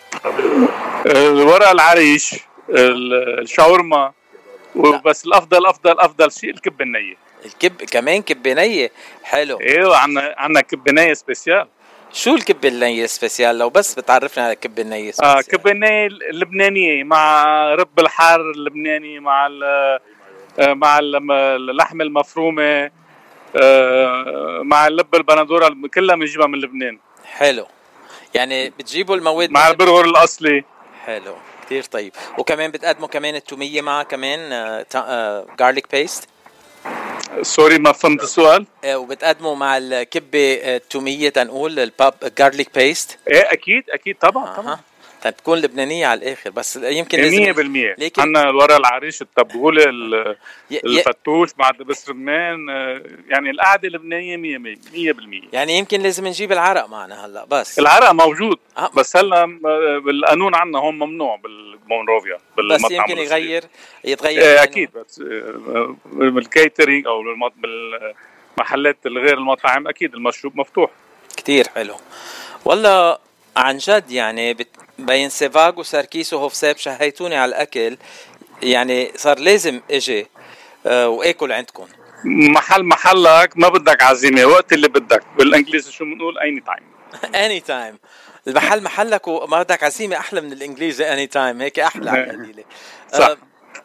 Speaker 16: الورق العريش، الشاورما، وبس الافضل شيء الكبه النيه.
Speaker 9: كمان كبه نيه حلو.
Speaker 16: ايوه عنا كبه نيه سبيسيال.
Speaker 9: شو الكبه النيه سبيسيال؟ لو بس بتعرفنا على الكبه النيه سبيسيال.
Speaker 16: كبه النيه اللبنانيه مع رب الحار اللبناني مع اللحم المفرومه مع اللب البندوره، كلها بنجيبها من لبنان.
Speaker 9: حلو. يعني بتجيبوا المواد
Speaker 16: مع البرغر الاصلي.
Speaker 9: حلو كتير طيب. وكمان بتقدموا كمان التوميه مع كمان garlic paste.
Speaker 16: سوري ما فهمت السؤال.
Speaker 9: وبتقدموا مع الكبه التوميه تنقول garlic paste.
Speaker 16: ايه اكيد طبعا.
Speaker 9: تكون لبنانية على الآخر، بس يمكن
Speaker 16: 100%. عنا الورق العريش، التبولة، الفتوش مع دبس رمان، يعني القعدة اللبنانية 100%.
Speaker 9: يعني يمكن لازم نجيب العرق معنا هلا. بس
Speaker 16: العرق موجود بس هلا بالقانون عنا هون ممنوع بالمونروفيا
Speaker 9: بس يمكن يتغير
Speaker 16: أكيد. بس بالكيترينج أو بالمحلات الغير المطاعم أكيد المشروب مفتوح.
Speaker 9: كتير حلو والله عن جد. يعني بين سيفاغ وساركيس وهوفساب شهيتوني على الأكل، يعني صار لازم اجي واكل عندكم.
Speaker 16: محلك ما بدك عزيمة، وقت اللي بدك. بالانجليزي شو بنقول؟
Speaker 9: any time. المحل محلك وما بدك عزيمة أحلى من الإنجليزي any time. هيك أحلى على
Speaker 16: صح.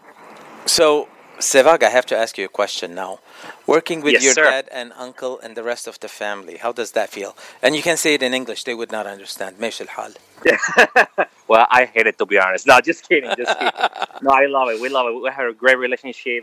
Speaker 9: So Sevag, I have to ask you a question now. Working with your
Speaker 8: sir.
Speaker 9: dad and uncle and the rest of the family, how does that feel? And you can say it in English, they would not understand. ماشي الحال.
Speaker 8: Well, I hate it, to be honest. No, just kidding. No, I love it. We love it. We have a great relationship,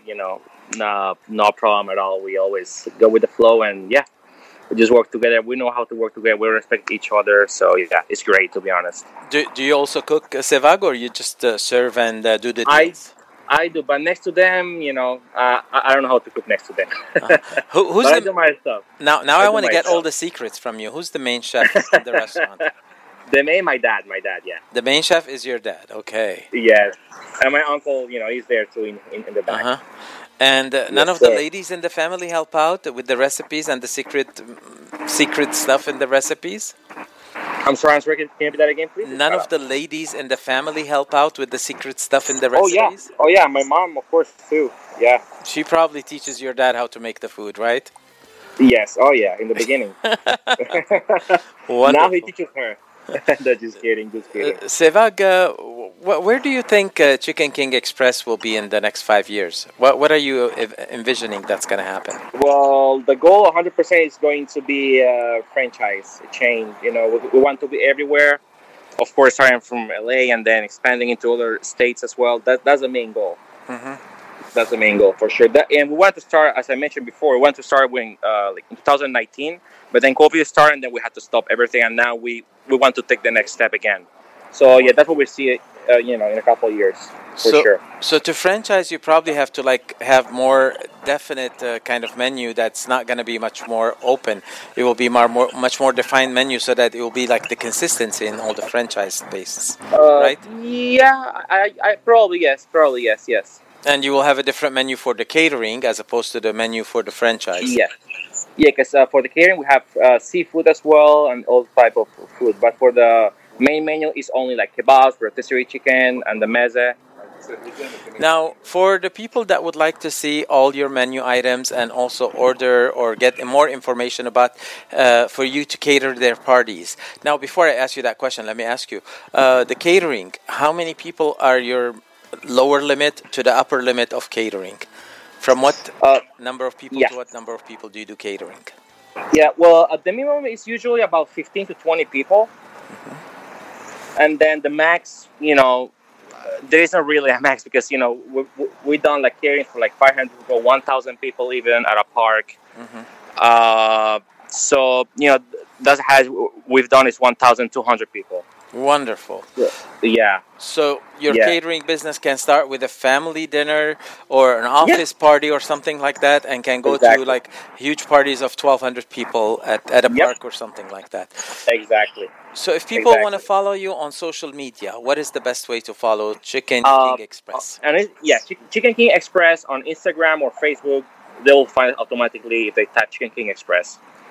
Speaker 8: no problem at all. We always go with the flow and we just work together. We know how to work together. We respect each other. So yeah, it's great, to be honest.
Speaker 9: Do you also cook Sevag, or you just serve and do the deals?
Speaker 8: I do, but next to them, I don't know how to cook next to them.
Speaker 9: Who's
Speaker 8: I do my stuff.
Speaker 9: Now I want to get all the secrets from you. Who's the main chef in the restaurant?
Speaker 8: My dad, yeah.
Speaker 9: The main chef is your dad, okay.
Speaker 8: Yes. And my uncle, he's there too in the back.
Speaker 9: And none of the ladies in the family help out with the recipes and the secret stuff in the recipes?
Speaker 8: I'm sorry, can you repeat that again, please?
Speaker 9: None of the ladies in the family help out with the secret stuff in the recipes?
Speaker 8: Oh yeah, my mom, of course, too. Yeah.
Speaker 9: She probably teaches your dad how to make the food, right?
Speaker 8: Yes, in the beginning. Now he teaches her. Just kidding.
Speaker 9: Sevag, where do you think Chicken King Express will be in the next 5 years? What are you envisioning that's going to happen?
Speaker 8: Well, the goal 100% is going to be a franchise, a chain. You know, we want to be everywhere. Of course, starting from LA and then expanding into other states as well. That's the main goal.
Speaker 9: Mm-hmm.
Speaker 8: That's the main goal for sure. And we want to start, as I mentioned before, we want to start when like in 2019, but then COVID started and then we had to stop everything, and now we want to take the next step again. So yeah, that's what we see, in a couple of years for sure.
Speaker 9: So to franchise, you probably have to like have more definite kind of menu that's not going to be much more open. It will be much more defined menu so that it will be like the consistency in all the franchise bases, right?
Speaker 8: Yeah, I probably yes.
Speaker 9: And you will have a different menu for the catering as opposed to the menu for the franchise.
Speaker 8: Yeah, because for the catering we have seafood as well and all type of food, but for the main menu is only like kebabs, rotisserie chicken, and the meze.
Speaker 9: Now, for the people that would like to see all your menu items and also order or get more information about for you to cater their parties. Now, before I ask you that question, let me ask you, the catering, how many people are your lower limit to the upper limit of catering? From what number of people to what number of people do you do catering?
Speaker 8: Yeah, well, the minimum is usually about 15 to 20 people.
Speaker 9: Mm-hmm.
Speaker 8: And then the max, there isn't really a max because, we've done like catering for like 500 people, 1,000 people even at a park.
Speaker 9: Mm-hmm.
Speaker 8: So, we've done is 1,200 people.
Speaker 9: Wonderful.
Speaker 8: Yeah.
Speaker 9: So your catering business can start with a family dinner or an office party or something like that, and can go to like huge parties of 1,200 people at a park or something like that.
Speaker 8: Exactly.
Speaker 9: So if people want to follow you on social media, what is the best way to follow Chicken King Express?
Speaker 8: Chicken King Express on Instagram or Facebook. They'll find it automatically if they type Chicken King Express.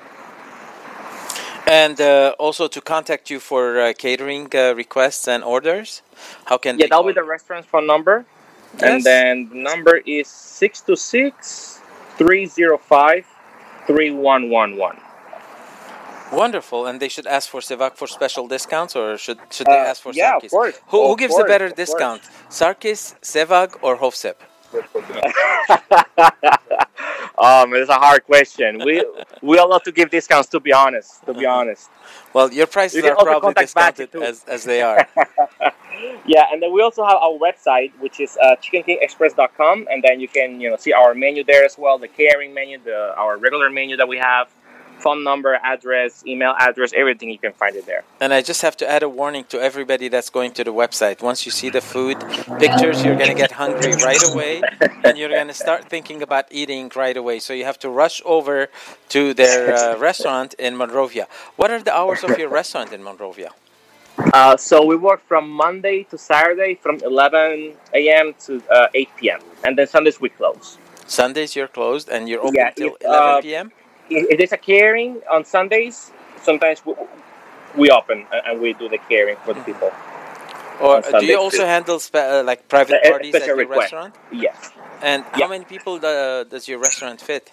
Speaker 9: And also to contact you for catering requests and orders, how can they
Speaker 8: that'll be the restaurant's phone number. Yes. And then the number is 626-305-3111.
Speaker 9: Wonderful. And they should ask for Sevak for special discounts, or should they ask for Sarkis?
Speaker 8: Of course.
Speaker 9: Who gives a better discount, Sarkis, Sevak, or Hofsep?
Speaker 8: Man, it's a hard question. We all love to give discounts, to be honest.
Speaker 9: Well, your prices are probably discounted as they are.
Speaker 8: Yeah, and then we also have our website, which is chickenkingexpress.com, and then you can see our menu there as well, the catering menu, our regular menu that we have. Phone number, address, email address, everything, you can find it there.
Speaker 9: And I just have to add a warning to everybody that's going to the website. Once you see the food pictures, you're going to get hungry right away, and you're going to start thinking about eating right away. So you have to rush over to their restaurant in Monrovia. What are the hours of your restaurant in Monrovia?
Speaker 8: So we work from Monday to Saturday from 11 a.m. to 8 p.m. And then Sundays we close.
Speaker 9: Sundays you're closed and you're open till 11 p.m.?
Speaker 8: If there's a catering on Sundays, sometimes we open and we do the catering for the people.
Speaker 9: Or do you also handle like private parties at your restaurant?
Speaker 8: Yes.
Speaker 9: And how many people does your restaurant fit?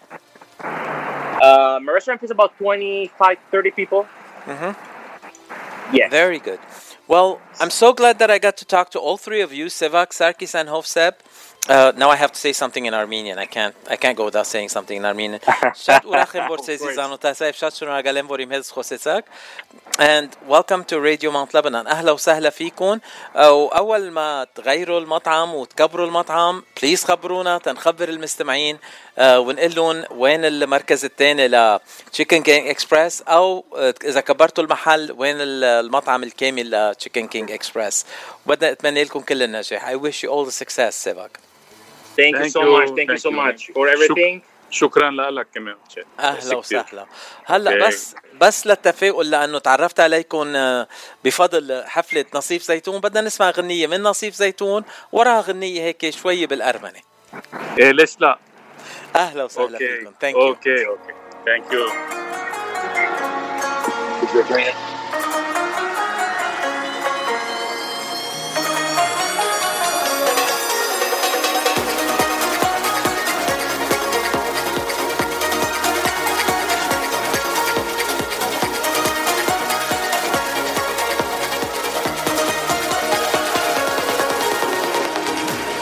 Speaker 8: My restaurant fits about 25, 30 people.
Speaker 9: Mm-hmm.
Speaker 8: Yeah.
Speaker 9: Very good. Well, I'm so glad that I got to talk to all three of you, Sevak, Sarkis, and Hofsep. Now I have to say something in Armenian. I can't go without saying something in Armenian. And welcome to Radio Mount Lebanon. أهلا وسهلا فيكم. وأول ما تغيروا المطعم وتكبروا المطعم please خبرونا تنخبر المستمعين ونقول لهم وين المركز الثاني ل Chicken King Express أو إذا كبرتوا المحل وين المطعم الكامل ل Chicken King Express. بدنا أتمنى لكم كل النجاح. I wish you all the success, Sevak.
Speaker 8: Thank you so much for everything.
Speaker 16: شكرا لك كمان.
Speaker 9: اهلا وسهلا. هلا بس للتفاؤل لانه تعرفت عليكم بفضل حفله نصيف زيتون، بدنا نسمع غنيه من نصيف زيتون وراها غنيه هيك شويه بالارمني.
Speaker 16: ايه ليش لا.
Speaker 9: اهلا وسهلا فيكم. ثانك يو.
Speaker 16: اوكي ثانك يو.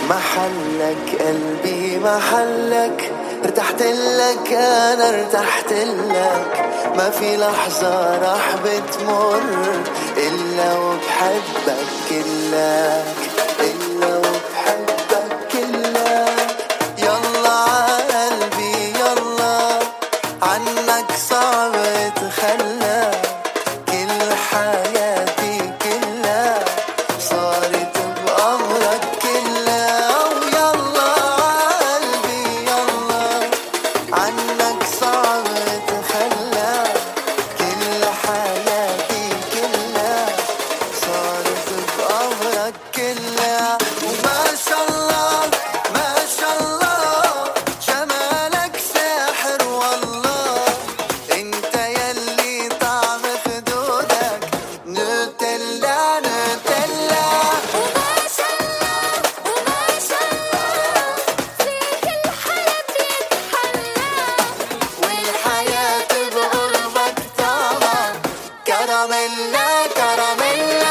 Speaker 15: محلك قلبي محلك، ارتحت لك انا ارتحت لك، ما في لحظة راح بتمر الا وبحبك كلك، الا وبحبك كلك. يلا عقلبي يلا عنك صعب اتخلى، كل حياتي كلها صارت بأمرك كلها. ويلا قلبي يلا عنك صعب اتخلى، كل حياتي كلها صارت بأمرك كلها. وما شاء الله ما شاء الله جمالك ساحر والله، انت يلي طعم خدودك نوتيلا نوتيلا.
Speaker 4: وما شاء الله وما شاء الله فيك الحياة يتحلى،
Speaker 15: والحياة بقربك طعمة كراميلا كراميلا.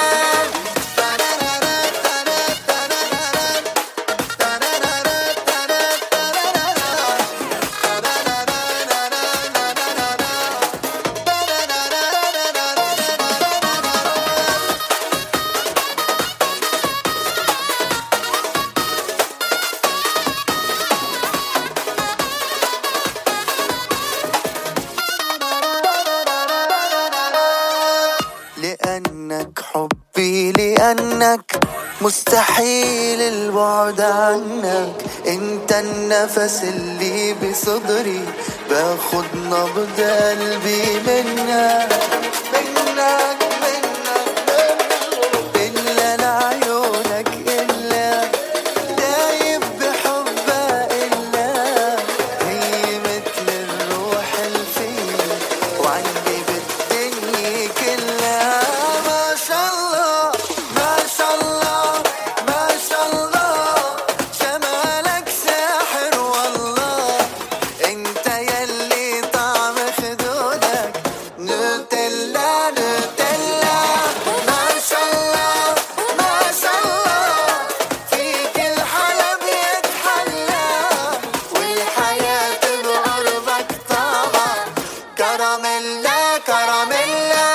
Speaker 15: لأنك حبي لأنك مستحيل البعد عنك، انت النفس اللي بصدري باخد نبض قلبي منك منك منك إلا لعيونك إلا دايب بحبها إلا هي مثل الروح الفيه وعندي بالدنيا كلها. ما شاء الله ما شاء الله ما شاء الله جمالك ساحر والله، انت يلي طعم خدودك نوتيلا نوتيلا. ما شاء الله ما شاء الله فيك الحلب يتحلى، والحياة بقربك طعمة كراميلا كراميلا.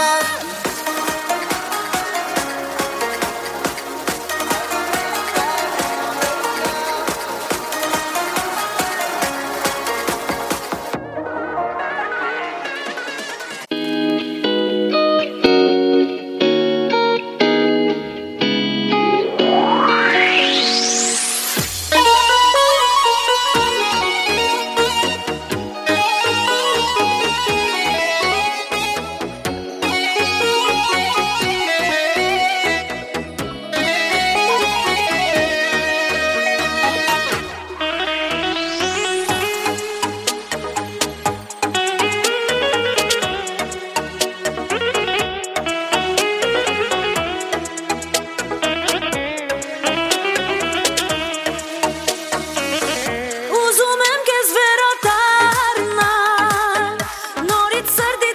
Speaker 11: Ուզում եմ քեզ վերադառնալ, նորից սրտիդ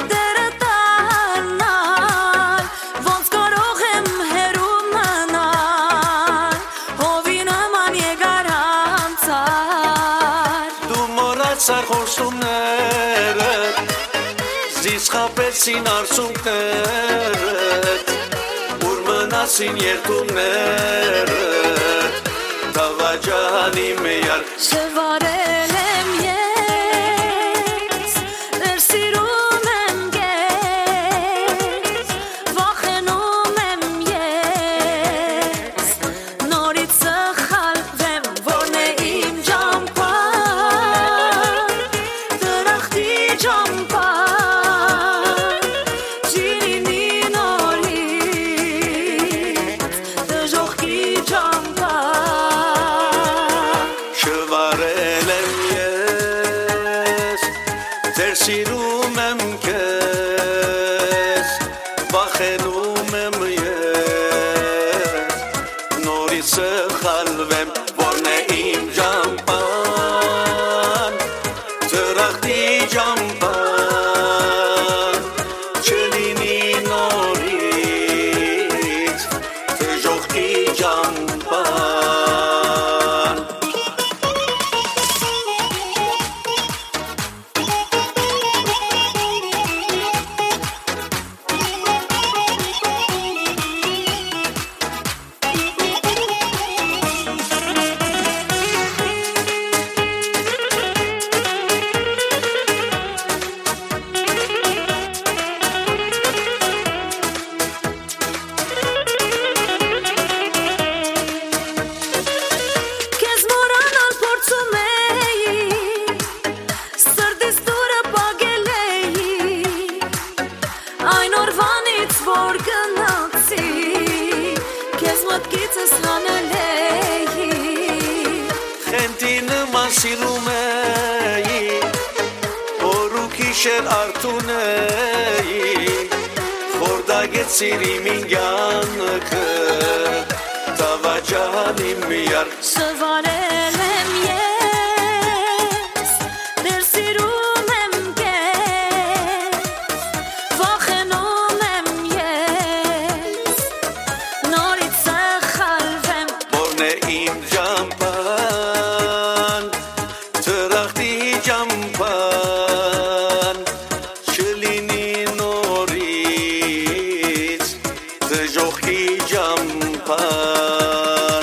Speaker 11: դերտանալ, ոնց կարող եմ հեռու մնալ, հովի նման եկար անցար։
Speaker 15: Դու մոռացար խոստումներդ, զիս խաբեցին արցունքներդ, ուր մնացին երկումներդ, տավաջանի միար
Speaker 11: Շվարել եմ ես, դեր սիրում եմ ես, վախենում եմ ես, նորից սխալվեմ, որն է իմ ճամփան, դրախտի ճամփան, ջինի նորից, դժոխքի ճամփան.
Speaker 15: շվարել եմ Իշեր արդունեի Խորդագետ սիրիմ ինգյանքը Տավաջան իմ միար
Speaker 11: Սվարել եմ ես Դեր սիրում եմ կեզ Վախենում եմ ես Նորից սխալվեմ
Speaker 15: Որն է իմ ճամպան Թրախտի ճամպան Չլինի նորից Դժոխքի ճամպան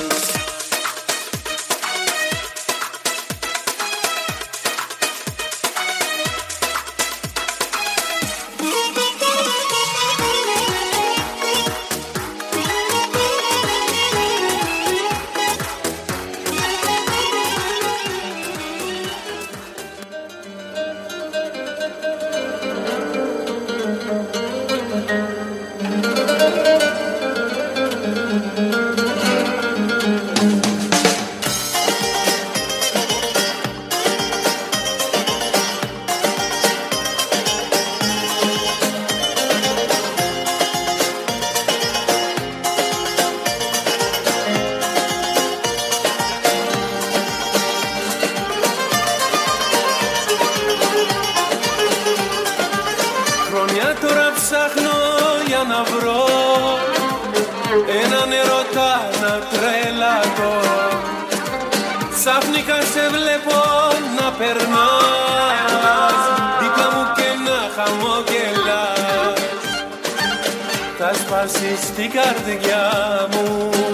Speaker 17: Spasisti gardiamo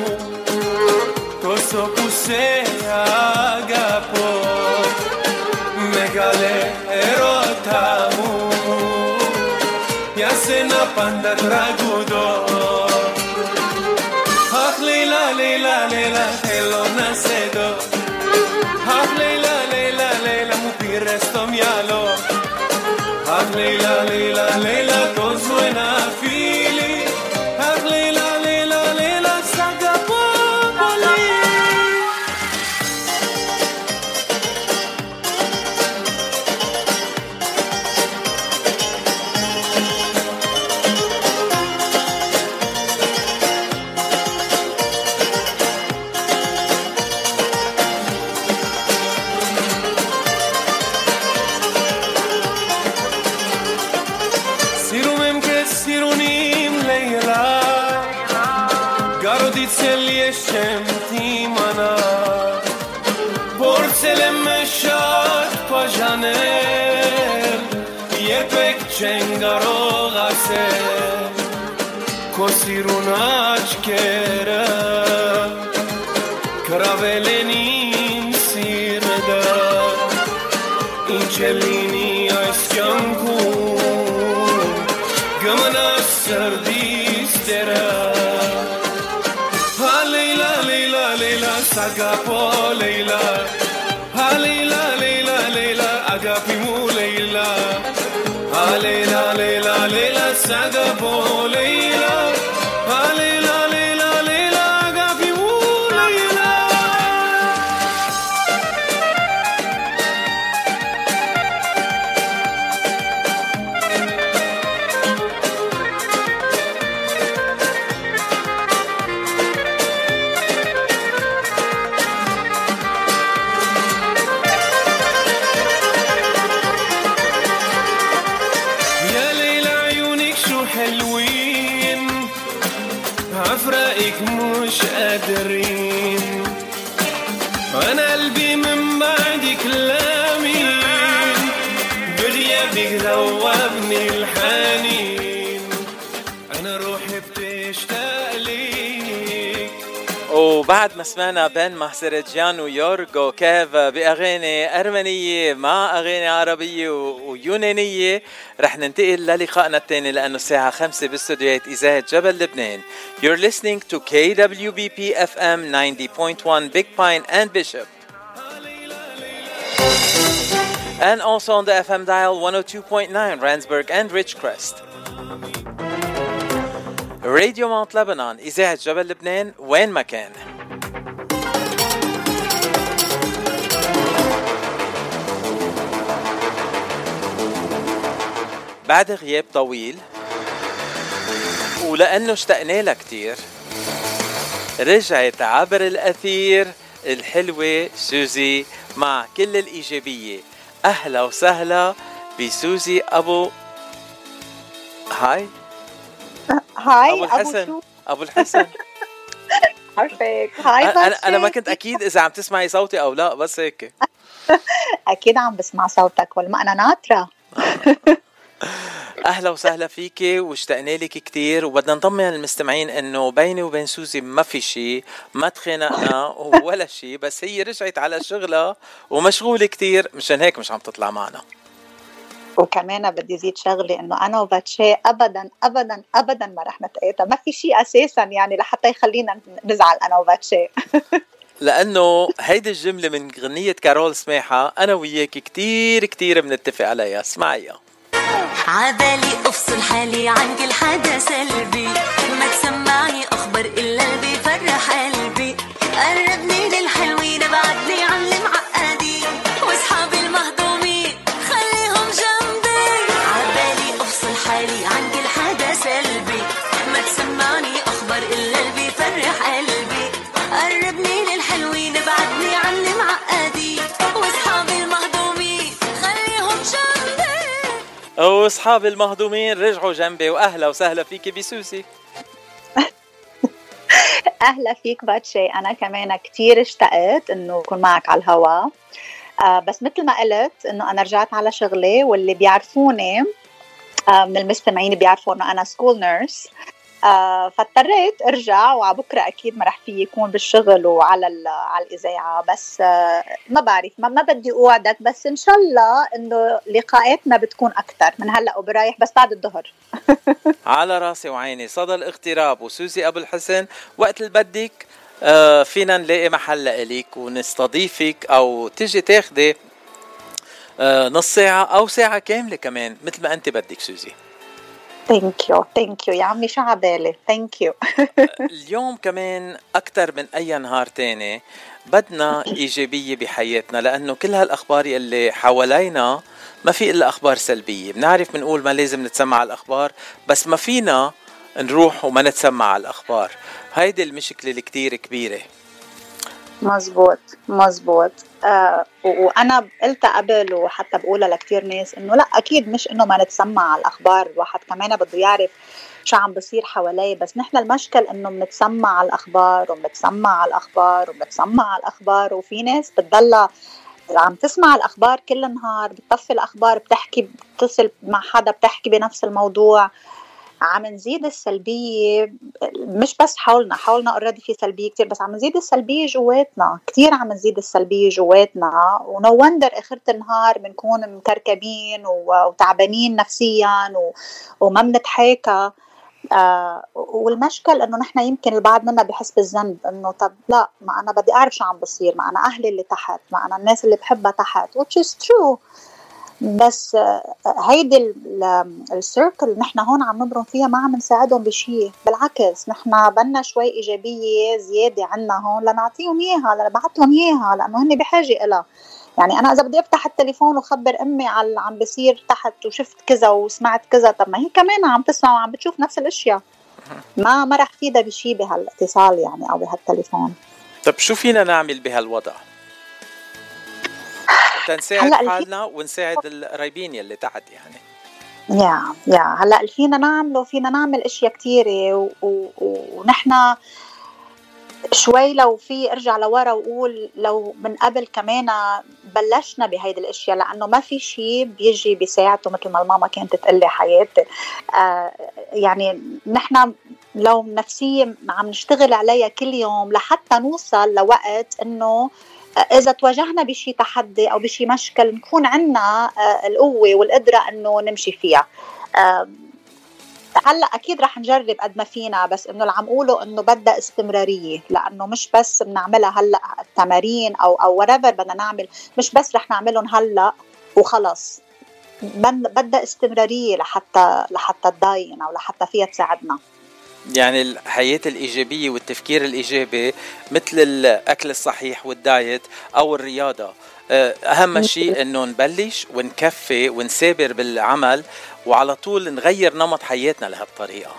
Speaker 17: Tosso puse agapo Megale erotamu Yasena panda tragudo Ach leila leila leila hello nacedo Ach leila leila leila mupire sto mialo Ach leila leila leila to suena fili Leila, Leila, Leila, Sagapopoli Sirumem che sirunim Leila Garoditsel yeshem timana Porcelem meshat pajaner Yepek chengarog aser Kosirunach kera Kravelenim sirda Inchelini aiskankum Gamana sardis dera Leila, Leila, Leila, Sagapo, Leila Leila, Leila, Leila, Agapimu, Leila Leila, Leila, Leila, Sagapo, Leila Leila, Leila, Leila, Agapimu, Leila مش قادرين أنا قلبي من بعد كلامين بغيابك ذوبني الحنين أنا روحي بتشتاق ليك.
Speaker 9: وبعد ما سمعنا بين محسرجان ويورغو كيف بأغاني أرمنية مع أغاني عربية ويونانية، رح ننتقل للقائنا الثاني لأنه الساعة 5 باستوديوهات إذاعة جبل لبنان. You're listening to KWBP FM 90.1 Big Pine and Bishop, and also on the FM dial 102.9 Randsburg and Ridgecrest. راديو ماونت لبنان إذاعة جبل لبنان وين ما كان. بعد غياب طويل ولأنه اشتقنا لها كتير رجعت عبر الأثير الحلوة سوزي مع كل الإيجابية. أهلا وسهلا بسوزي أبو هاي أبو الحسن. أبو الحسن
Speaker 18: عارفك. هاي
Speaker 9: أنا ما كنت أكيد إذا عم تسمعي صوتي أو لا، بس هيك
Speaker 18: أكيد عم بسمع صوتك والما أنا ناطرة.
Speaker 9: أهلا وسهلا فيكي واشتقنا لك كتير، وبدنا نطمن المستمعين إنه بيني وبين سوزي ما في شيء، ما تخانقنا ولا شيء، بس هي رجعت على شغلها ومشغولة كتير، مشان هيك مش عم تطلع معنا.
Speaker 18: وكمان بدي زيد شغلي إنه أنا وباتشي أبدا أبدا أبدا ما رح نتقاطع، ما في شيء أساسا يعني لحتى يخلينا نزعل أنا وباتشي.
Speaker 9: لأنه هيدي الجملة من غنية كارول سماحة أنا وياك كتير كتير بنتفق عليها. اسمعيها.
Speaker 11: عبالي أفصل حالي عن كل حدا سلبي، ما تسمعني أخبر إلا اللي بيفرح قلبي، قربني للحلوين بعدني عن المعقدين، واصحابي المهضومين خليهم جنبي. عبالي أفصل حالي عن كل حدا سلبي، ما تسمعني أخبر إلا اللي بيفرح قلبي، قربني للحلوين بعدني عن المعقدين، واصحابي المهضومين خليهم جنبي.
Speaker 9: واصحاب المهضومين رجعوا جنبي. واهلا وسهلا فيكي بسوسي.
Speaker 18: اهلا فيك باتشي. انا كمان كتير اشتقت انه اكون معك على الهواء، بس مثل ما قلت انه انا رجعت على شغلي، واللي بيعرفوني من المستمعين بيعرفوا انه انا سكول نيرس، فاضطريت ارجع، وعبكره اكيد ما رح في يكون بالشغل وعلى الاذاعه، بس ما بعرف، ما بدي اوعدك، بس ان شاء الله انه لقاءاتنا بتكون اكثر من هلا وبرايح، بس بعد الظهر.
Speaker 9: على راسي وعيني. صدى الاغتراب وسوزي ابو الحسن، وقت اللي بدك فينا نلاقي محل لك ونستضيفك، او تجي تاخدي نص ساعه او ساعه كامله كمان مثل ما انت بدك سوزي.
Speaker 18: ثانك يو يا عمي، شو عبالي. ثانك يو.
Speaker 9: اليوم كمان أكتر من أي نهار تاني بدنا إيجابية بحياتنا، لأنه كل هالأخبار اللي حوالينا ما في إلا أخبار سلبية. بنعرف بنقول ما لازم نتسمع على الأخبار، بس ما فينا نروح وما نتسمع على الأخبار. هيدي المشكلة اللي كتير كبيرة.
Speaker 18: مزبوط. وأنا قلت قبل وحتى بقولها لكتير ناس إنه لا، أكيد مش إنه ما نتسمع على الأخبار، الواحد كمان بده يعرف شو عم بصير حواليه، بس نحن المشكل إنه بنتسمع على الأخبار وبنتسمع على الأخبار وبنتسمع على الأخبار، وفي ناس بتضلها عم تسمع الأخبار كل النهار، بتطفي الأخبار، بتحكي، بتصل مع حدا بتحكي بنفس الموضوع. عم نزيد السلبية، مش بس حولنا already في سلبية كتير، بس عم نزيد السلبية جواتنا كتير، عم نزيد السلبية جواتنا، ونو وندر آخر النهار بنكون مكركبين وتعبانين نفسيا وما بنتحاكى. والمشكل انه نحن يمكن البعض منا بحس بالذنب، انه طب لا، ما انا بدي اعرف شو عم بصير، ما انا اهلي اللي تحت، ما انا الناس اللي بحبها تحت، which is true. بس هيدي السيركل نحن هون عم نبرم فيها، ما عم نساعدهم بشيء، بالعكس نحن بدنا شوي إيجابية زيادة عنا هون لنعطيهم إياها، لنبعثلهم إياها، لأنه هن بحاجة إلها. يعني أنا إذا بدي أفتح التليفون وخبر أمي على عم بصير تحت وشفت كذا وسمعت كذا، طب ما هي كمان عم تسمع وعم بتشوف نفس الأشياء، ما رح فيدا بشيء بهالاتصال يعني أو بهالتليفون.
Speaker 9: طب شو فينا نعمل بهالوضع تنساعد حالنا ونساعد القرايبين يلي تحت يعني؟
Speaker 18: يا هلا فينا نعمل اشياء كتيرة، ونحن شوي لو في ارجع لورا وقول لو من قبل كمان بلشنا بهيدي الاشياء، لانه ما في شيء بيجي بيساعده مثل ما الماما كانت تقلي حياتي. يعني نحن لو نفسية عم نشتغل عليها كل يوم لحتى نوصل لوقت انه إذا تواجهنا بشي تحدي أو بشي مشكل نكون عنا القوة والقدرة أنه نمشي فيها. هلأ أكيد رح نجرب قد ما فينا، بس أنه اللي عم قوله أنه بدأ استمرارية، لأنه مش بس بنعملها هلأ التمارين أو whatever بدنا نعمل، مش بس رح نعملهم هلأ وخلص، بدأ استمرارية لحتى تضاين أو لحتى فيها تساعدنا.
Speaker 9: يعني الحياة الإيجابية والتفكير الإيجابي مثل الأكل الصحيح والدايت أو الرياضة، أهم شيء إنه نبلش ونكفي ونسابر بالعمل وعلى طول نغير نمط حياتنا لهالطريقة.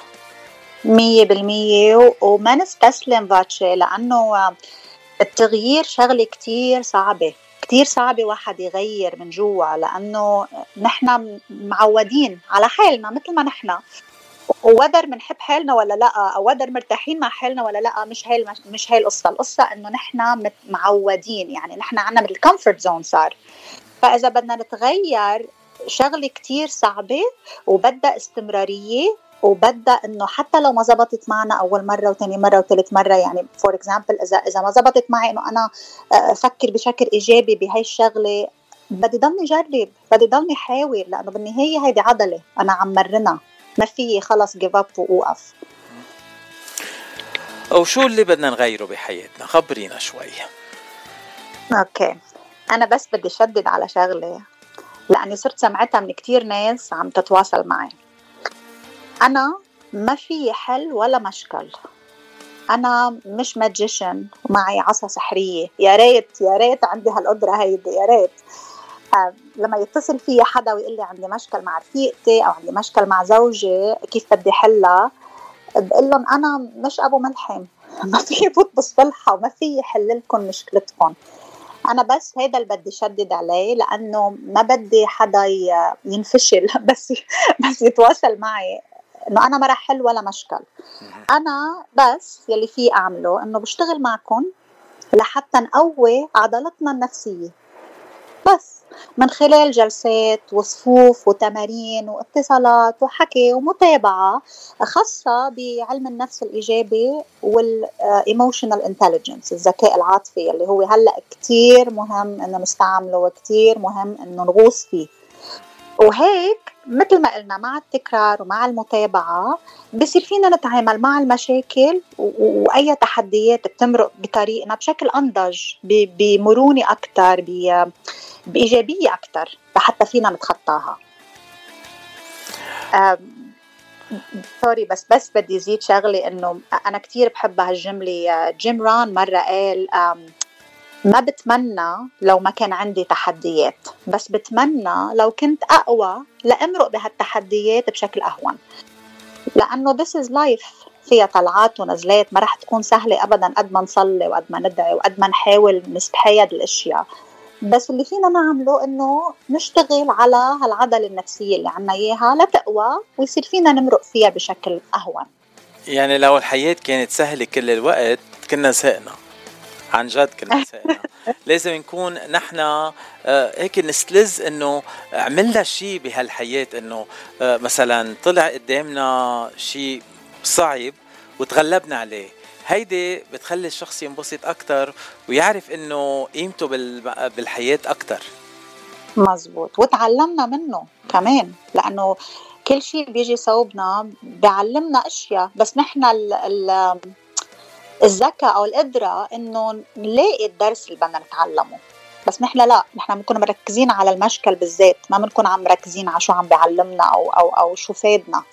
Speaker 18: 100% وما نستسلم فاتشي، لأنه التغيير شغلة كتير صعبة، كتير صعبة واحد يغير من جوا، لأنه نحن معودين على حالنا مثل ما نحن، وودر منحب حالنا ولا لا، أو ودر مرتاحين مع حالنا ولا لا، مش هاي القصة إنه نحن معودين، يعني نحن عنا مثل comfort zone صار. فإذا بدنا نتغير شغلة كتير صعبة وبدأ استمرارية، وبدأ إنه حتى لو ما زبطت معنا أول مرة وثاني مرة وثالث مرة، يعني for example إذا ما زبطت معي إنه أنا أفكر بشكل إيجابي بهاي الشغلة، بدي ضلني جرب، بدي ضلني حاول، لأنه بالنهاية هيدي عضلة أنا عم مرنها، ما فيي خلص give up ووقف.
Speaker 9: وشو اللي بدنا نغيره بحياتنا؟ خبرينا شوي.
Speaker 18: أوكي، أنا بس بدي شدد على شغلة، لأني صرت سمعتها من كتير ناس عم تتواصل معي. أنا ما في حل ولا مشكل، أنا مش ماجيشن ومعي عصا سحرية، يا ريت عندي هالقدرة هيدي، يا ريت. لما يتصل فيي حدا ويقول لي عندي مشكل مع رفيقتي أو عندي مشكل مع زوجي كيف بدي حلها، بقول لهم أنا مش أبو ملحم، ما في فوت بالصلحة وما في حل لكم مشكلتكم. أنا بس هيدا اللي بدي شدد عليه، لأنه ما بدي حدا ينفشل بس يتواصل معي إنه أنا ما رح حل ولا مشكل. أنا بس يلي فيه أعمله إنه بشتغل معكم لحتى نقوي عضلتنا النفسية، بس من خلال جلسات وصفوف وتمارين واتصالات وحكي ومتابعة خاصة بعلم النفس الإيجابي والemotional intelligence، الذكاء العاطفي، اللي هو هلأ كتير مهم إنه نستعمله وكتير مهم إنه نغوص فيه. وهيك مثل ما قلنا مع التكرار ومع المتابعة بصير فينا نتعامل مع المشاكل وأي تحديات بتمرق بطريقنا بشكل أنضج، بمرونة أكتر، بإيجابية أكتر، حتى فينا نتخطاها. سوري بس بدي زيد شغلة، إنه أنا كتير بحب هالجملة. جيم ران مرة قال ما بتمنى لو ما كان عندي تحديات، بس بتمنى لو كنت أقوى لأمرق بهالتحديات بشكل أهون، لأنه this is life، فيها طلعات ونزلات، ما رح تكون سهلة أبدا قد ما نصلي وقد ما ندعي وقد ما نحاول نستحيد الأشياء. بس اللي فينا نعمله إنه نشتغل على هالعضلة النفسية اللي عنا إياها لتقوى ويصير فينا نمرق فيها بشكل أهون.
Speaker 9: يعني لو الحياة كانت سهلة كل الوقت كنا زهقنا، عن جد كنا زهقنا. لازم نكون نحن هيك نستلز إنه عملنا شيء بهالحياة، إنه مثلا طلع قدامنا شيء صعب وتغلبنا عليه. هيدي بتخلي الشخص ينبسط أكتر ويعرف إنه قيمته بالحياة أكتر.
Speaker 18: مزبوط، وتعلمنا منه كمان، لأنه كل شيء بيجي صوبنا بيعلمنا أشياء، بس نحن الذكاء أو القدرة إنه نلاقي الدرس اللي بدنا نتعلمه. بس نحن لا، نحن بنكون مركزين على المشكل بالذات، ما بنكون عم مركزين على شو عم بيعلمنا أو شو فادنا.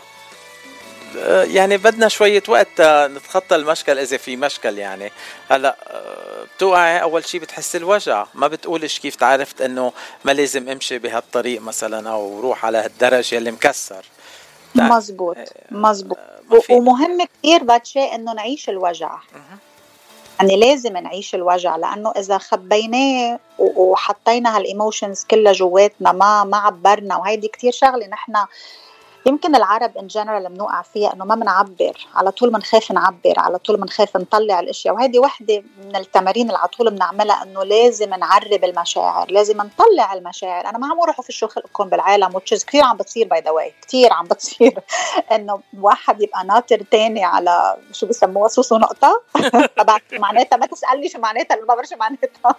Speaker 9: يعني بدنا شوية وقت نتخطى المشكل إذا في مشكل. يعني هلأ بتوقع أول شيء بتحس الوجع، ما بتقولش كيف تعرفت إنه ما لازم أمشي بهالطريق مثلا أو روح على هالدرج يلي مكسر.
Speaker 18: مزبوط. ومهم كتير باتشي إنه نعيش الوجع، يعني لازم نعيش الوجع، لأنه إذا خبيناه وحطينا هالإيموشنز كلها جواتنا ما عبرنا. وهيدي كتير شغلة نحن يمكن العرب in general بنوقع فيها، إنه ما بنعبر، على طول بنخاف نعبر، على طول بنخاف نطلع الأشياء. وهذه واحدة من التمارين اللي على طول بنعملها، إنه لازم نعرب المشاعر، لازم نطلع المشاعر. أنا ما عم أروح في شو خلقكم بالعالم، وتشز كتير عم بتصير باي ذا واي، كتير عم بتصير إنه واحد يبقى ناطر تاني على شو بسموها صوص ونقطة. طبعا معناتها ما تسألني شو معناتها، ما بعرف شو معناتها.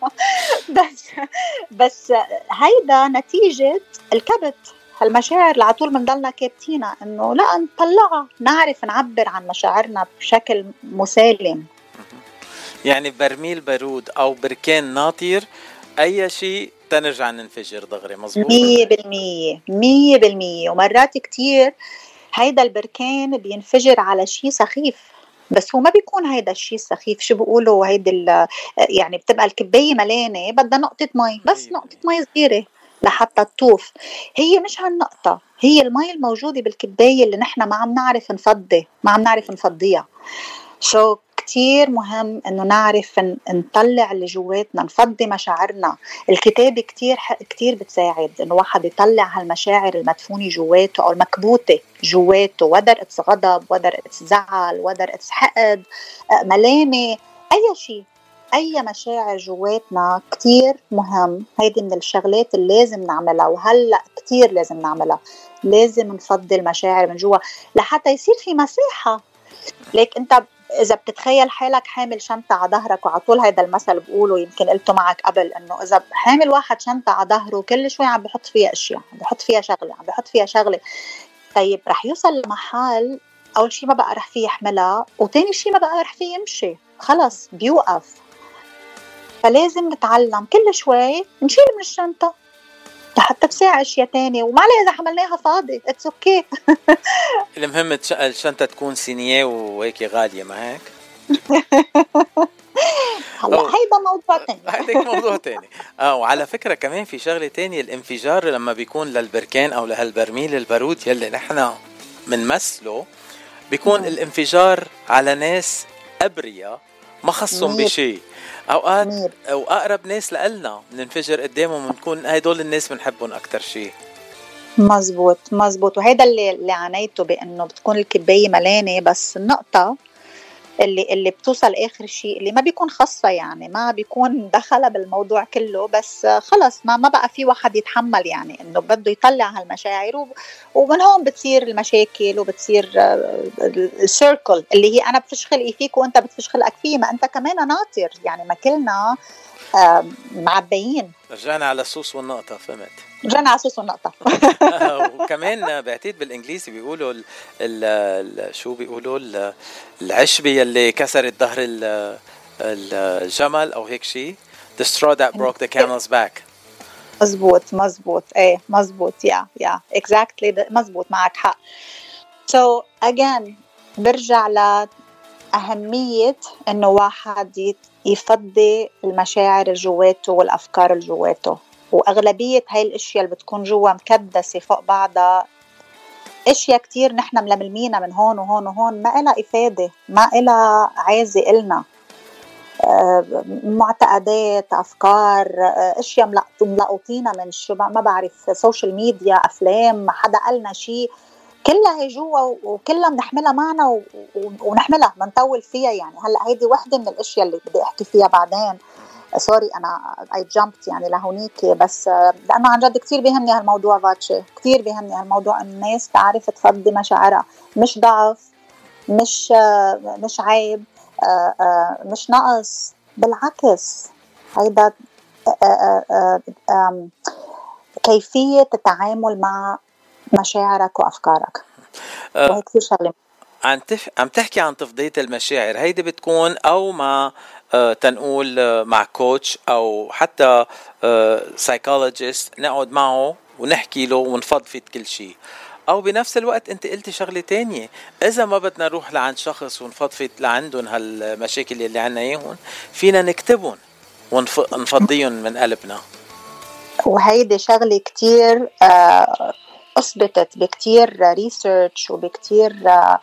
Speaker 18: بس هيدا نتيجة الكبت، هالمشاعر اللي على طول بنضلنا كابتينها، انه لا نطلعها، نعرف نعبر عن مشاعرنا بشكل مسالم.
Speaker 9: يعني برميل بارود او بركان ناطر، اي شيء تنرجع ننفجر دغري. مظبوط
Speaker 18: 100%. ومرات كتير هيدا البركان بينفجر على شيء سخيف، بس هو ما بيكون هيدا الشيء سخيف. شو بيقولوا هيدي يعني بتبقى الكباية ملانة بدها نقطة مي، بس نقطة مي صغيرة لحتى تطوف. هي مش هالنقطة، هي المي الموجودة بالكباية اللي نحن ما عم نعرف نفضيها. شو كتير مهم انه نعرف نطلع اللي جواتنا، نفضي مشاعرنا. الكتابة كتير بتساعد انه واحد يطلع هالمشاعر المدفونة جواته او المكبوتة جواته، whether it's غضب، whether it's زعل، whether it's حقد، ملامة، اي شيء، اي مشاعر جواتنا كتير مهم. هيدي من الشغلات اللي لازم نعملها، وهلأ كتير لازم نعملها. لازم نفضي المشاعر من جوا لحتى يصير في مساحة. ليك انت إذا بتتخيل حالك حامل شنطة على ظهرك، وعلى طول هيدا المثل بقوله، يمكن قلته معك قبل، إنه إذا حامل واحد شنطة على ظهره كل شوي عم بحط فيها أشياء، عم بحط فيها شغلة، طيب رح يوصل لمحل أول شي ما بقى رح فيه يحملها، وتاني شي ما بقى رح فيه يمشي، خلص بيوقف. فلازم نتعلم كل شوي نشيل من الشنطة لحتى تساعد أشياء تانية، وما عليه إذا حملناها فاضي it's okay.
Speaker 9: المهم الشنطة تكون صينية وهيك غالية، ما هيك؟
Speaker 18: هلا هيدا موضوع تاني.
Speaker 9: هيدا موضوع تاني. وعلى فكرة كمان في شغلة تانية، الانفجار لما بيكون للبركان أو لهالبرميل البارود يلي نحن منمثله، بيكون الانفجار على ناس أبرياء ما خصهم بشيء. أوقات وأقرب ناس لقلنا ننفجر قدامهم، ونكون هيدول الناس بنحبهم أكتر شيء.
Speaker 18: مزبوط. وهيدا اللي عانيته، بأنه بتكون الكباية ملانة، بس النقطة اللي بتوصل آخر شيء اللي ما بيكون خاصة، يعني ما بيكون دخل بالموضوع كله، بس خلص ما بقى في واحد يتحمل، يعني إنه بده يطلع هالمشاعر، ومن هون بتصير المشاكل، وبتصير السيركل اللي هي أنا بفشخلقي فيك وأنت بتفشخلقك فيه، ما أنت كمان ناطر، يعني ما كلنا معبيين.
Speaker 9: رجعنا على الصوص والنقطة، فهمت؟
Speaker 18: رجعنا على الصوص والنقطة.
Speaker 9: وكمان بعتقد بالإنجليزي بيقولوا شو بيقولوا العشبة اللي كسرت ظهر الجمل أو هيك شيء، the straw that broke the camel's back.
Speaker 18: مزبوط ايه مزبوط يا exactly مزبوط، معك حق. so again برجع لأهمية إنه واحد يفضي المشاعر الجواته والأفكار الجواته، وأغلبية هاي الأشياء اللي بتكون جوا مكدسة فوق بعضها، أشياء كتير نحن ململمينا من هون وهون وهون، ما إلها إفادة، ما إلها عازة إلنا. معتقدات، أفكار، أشياء ملقوطينا من شو ما بعرف، سوشيال ميديا، أفلام، حدا قالنا شيء، كلها هي جوا وكلها بنحملها معنا ونحملها بنطول فيها. يعني هلأ هيدي واحدة من الأشياء اللي بدي أحكي فيها بعدين. سوري أنا I jumped يعني لهونيك، بس لأنه عن جد كتير بيهمني هالموضوع فاتشي، كتير بيهمني هالموضوع، إن الناس تعرف تفضي مشاعرها، مش ضعف، مش عيب، مش نقص، بالعكس هيدا كيفية التعامل مع مشاعرك وأفكارك. وهي كتير شغلة.
Speaker 9: عم تحكي عن تفضية المشاعر، هيدي بتكون أو مع تنقول مع كوتش أو حتى سايكولوجيست نقعد معه ونحكي له ونفضفض كل شيء، أو بنفس الوقت أنت قلتي شغلة تانية، إذا ما بدنا نروح لعند شخص ونفضفض لعندهم هالمشاكل اللي عنا إياهم، فينا نكتبهم ونفضيهم من قلبنا.
Speaker 18: وهيدي شغلة كتير أثبتت بكتير ريسيرش وبكتير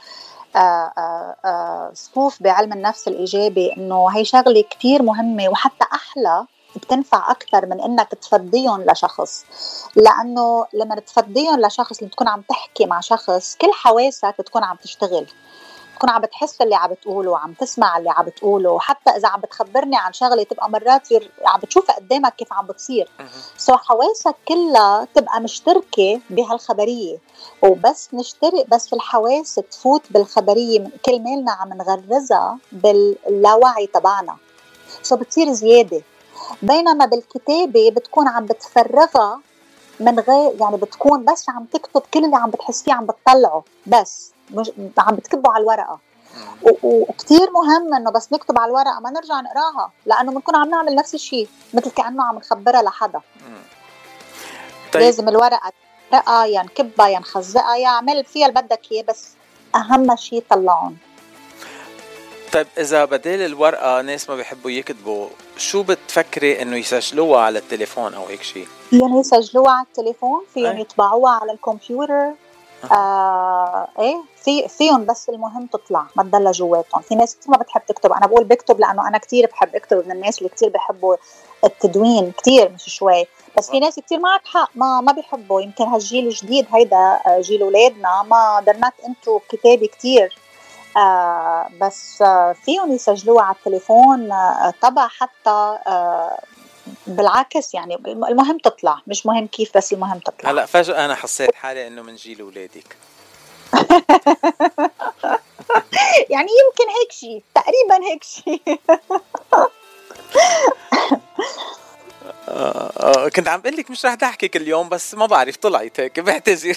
Speaker 18: صفوف بعلم النفس الإيجابي، إنه هي شغلة كتير مهمة، وحتى أحلى بتنفع أكتر من إنك تفضيهم لشخص، لأنه لما تفضيهم لشخص، لما تكون عم تحكي مع شخص كل حواسك بتكون عم تشتغل، تكون عم بتحس اللي عم بتقوله، عم تسمع اللي عم بتقوله، حتى إذا عم بتخبرني عن شغلة تبقى مرات عم بتشوفها قدامك كيف عم بتصير. حواسك كلها تبقى مشتركة بهالخبرية، وبس نشترك بس في الحواس تفوت بالخبرية، كل مالنا عم نغرزها باللاوعي تبعنا، بتصير زيادة. بينما بالكتابة بتكون عم بتفرغها من غير، يعني بتكون بس عم تكتب كل اللي عم بتحسيه، عم بتطلعه، بس مش عم بتكتبه على الورقة. وكتير مهم انه بس نكتب على الورقة ما نرجع نقراها، لانه بنكون عم نعمل نفس الشيء، مثل كأنه عم نخبرها لحدا. طيب. لازم الورقة تقرأ، يا نكبها يا نخزقها يا عمل فيها اللي بدك اياه، بس اهم شيء طلعون.
Speaker 9: طيب إذا بدل الورقة ناس ما بيحبوا يكتبوا، شو بتفكري إنه يسجلوها على التليفون أو هيك شيء؟
Speaker 18: فيهم يسجلوها على التليفون، فيهم يطبعوها على الكمبيوتر. ايه فيهم، بس المهم تطلع ما تضل جواتهم. في ناس كتير ما بتحب تكتب، انا بقول بكتب لانه انا كتير بحب اكتب، من الناس اللي كتير بحبوا التدوين كتير مش شوي. بس في ناس كتير معك حق ما بيحبوا. يمكن هالجيل الجديد هيدا جيل اولادنا ما درنات انتو بكتابة كتير. بس فيهم يسجلوها على التليفون طبع حتى بالعكس. يعني المهم تطلع، مش مهم كيف، بس المهم تطلع.
Speaker 9: هلا فجأة أنا حسيت حالي إنه من جيل أولادك.
Speaker 18: يعني يمكن هيك شيء، تقريبا هيك شيء.
Speaker 9: كنت عم بقول لك مش رح تحكي كل يوم، بس ما بعرف طلعت هيك، بعتذر.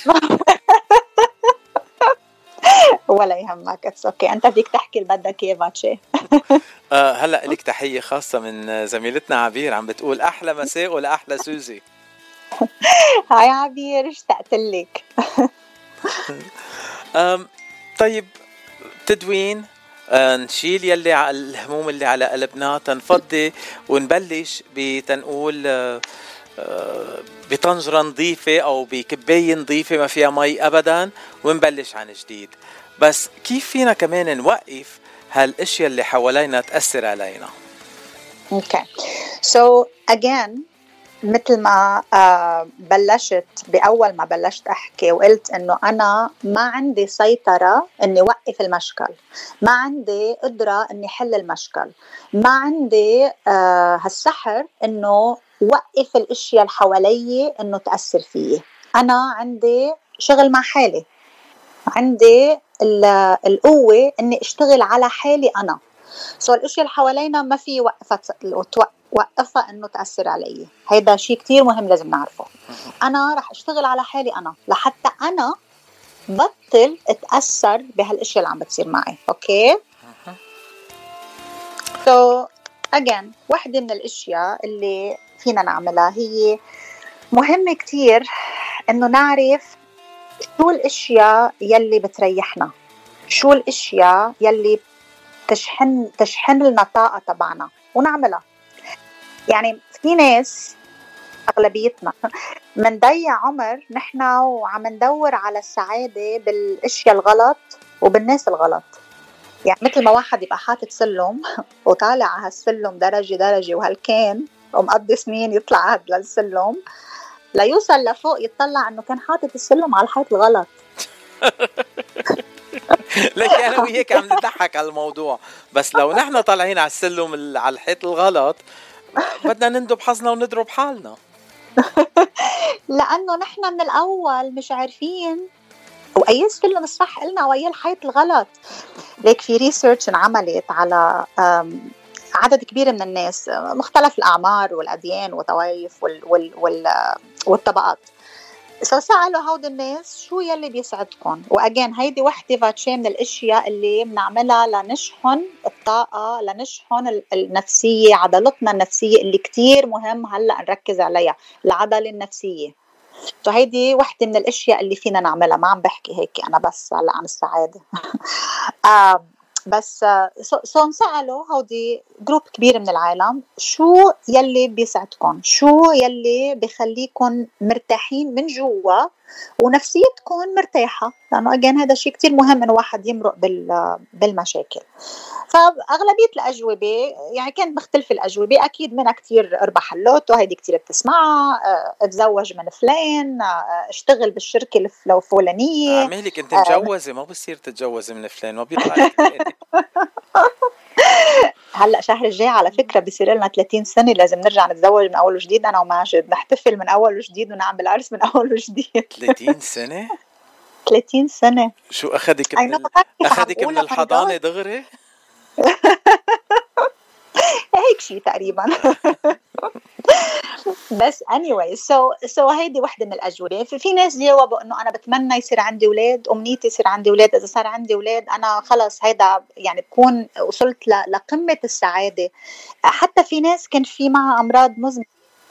Speaker 18: ولا يهمك، اتس اوكي. انت بدك تحكي اللي بدك اياه باتشي.
Speaker 9: هلا لك تحيه خاصه من زميلتنا عبير، عم بتقول احلى مساء ولا احلى سوزي.
Speaker 18: هاي عبير، اشتقت لك.
Speaker 9: طيب تدوين، نشيل يلي الهموم اللي على قلبنا، تنفضي ونبلش بتنقول بطنجرة نظيفة أو بكباية نظيفة ما فيها مي أبدا، ونبلش عن جديد. بس كيف فينا كمان نوقف هالاشياء اللي حوالينا تأثر علينا؟
Speaker 18: Okay. So again مثل ما بلشت بأول ما بلشت أحكي وقلت إنه أنا ما عندي سيطرة إني وقف المشكل، ما عندي قدرة إني حل المشكل، ما عندي هالسحر إنه وقف الأشياء اللي حوالي إنه تأثر فيه. أنا عندي شغل مع حالي، عندي القوة إني أشتغل على حالي أنا. الأشياء اللي حوالينا ما في وقفها إنه تأثر علي. هيدا شيء كتير مهم لازم نعرفه. أنا رح أشتغل على حالي أنا لحتى أنا بطل أتأثر بهالأشياء اللي عم بتصير معي. أوكي. So again واحدة من الأشياء اللي فينا نعملها هي مهمة كتير إنه نعرف شو الأشياء يلي بتريحنا، شو الأشياء يلي تشحن لنا طاقة تبعنا ونعملها. يعني في ناس أغلبيتنا منضيع عمر نحن وعم ندور على السعادة بالأشياء الغلط وبالناس الغلط. يعني مثل ما واحد يبقى حاطط سلم وطالع على هالسلم درجة درجة وهالكان ومقضي سنين يطلع هاد للسلم ليوصل لفوق يتطلع انه كان حاطط السلم على الحيط الغلط.
Speaker 9: لك انا وياك عم نضحك على الموضوع، بس لو نحن طالعين على السلم على الحيط الغلط بدنا نندب حظنا ونضرب حالنا.
Speaker 18: لانه نحن من الاول مش عارفين واي السلم الصح قلنا واي الحيط الغلط. ليك في ريسيرش انعملت على عدد كبير من الناس مختلف الأعمار والأديان والطوائف والطبقات. سألوا هود الناس شو يلي بيسعدكم، وأجين هيدي وحدة فاتشي من الأشياء اللي بنعملها لنشحن الطاقة، لنشحن النفسية، عضلتنا النفسية اللي كتير مهم هلأ نركز عليها، العضلة النفسية. هيدي وحدة من الأشياء اللي فينا نعملها. ما عم بحكي هيك أنا بس هلأ عن السعادة. بس نسألوا هودي جروب كبير من العالم شو يلي بيسعدكم، شو يلي بيخليكم مرتاحين من جوا ونفسيتكم مرتاحة، لأنه أجين هذا شيء كتير مهم إنه واحد يمرق بالمشاكل. فأغلبية الأجوبة يعني كانت مختلفة الأجوبة، أكيد منها كتير أربح اللوتو، هيدي كتير بتسمعها، اتزوج من فلان، اشتغل بالشركة الفلانية.
Speaker 9: عمالك أنت مجوزة، ما بصير تتجوزي من فلان، ما بيطلع.
Speaker 18: هلأ شهر الجاي على فكرة بيصير لنا 30 سنة، لازم نرجع نتزوج من أول وجديد أنا وماجد، نحتفل من أول وجديد ونعمل عرس من أول وجديد.
Speaker 9: 30 سنة؟
Speaker 18: 30 سنة.
Speaker 9: شو أخذك من الحضانة دغري؟
Speaker 18: هيك شيء تقريبا. بس anyway so هيدي وحدة من الأجوبة. في ناس جاوبوا إنه أنا بتمنى يصير عندي أولاد، أمنيتي يصير عندي أولاد، إذا صار عندي أولاد أنا خلص هيدا يعني بكون وصلت لقمة السعادة. حتى في ناس كان في معها أمراض مزمنة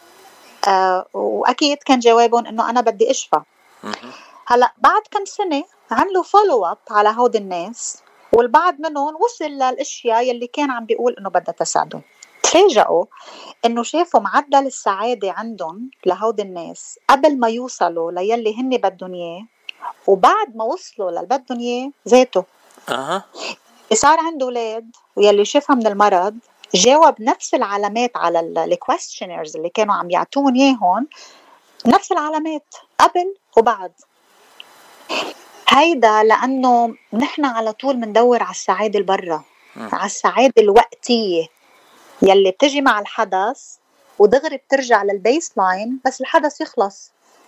Speaker 18: وأكيد كان جوابهم إنه أنا بدي أشفى. هلأ بعد كم سنة عملوا follow up على هود الناس والبعض منهم وصل للاشياء يلي كان عم بيقول انه بدها تساعده. تفاجئوا انه شافوا معدل السعاده عندهم لهود الناس قبل ما يوصلوا ليلي هن بدهم اياه، وبعد ما وصلوا للي بدهم اياه ذاته. صار عنده اولاد ويلي شافها من المرض جاوب نفس العلامات على الكويستشنرز اللي كانوا عم يعطون اياهم، نفس العلامات قبل وبعد. هيدا لانه نحن على طول مندور على السعاده البرة، على السعاده الوقتيه يلي بتجي مع الحدث ودغري بترجع للبيس لاين بس الحدث يخلص.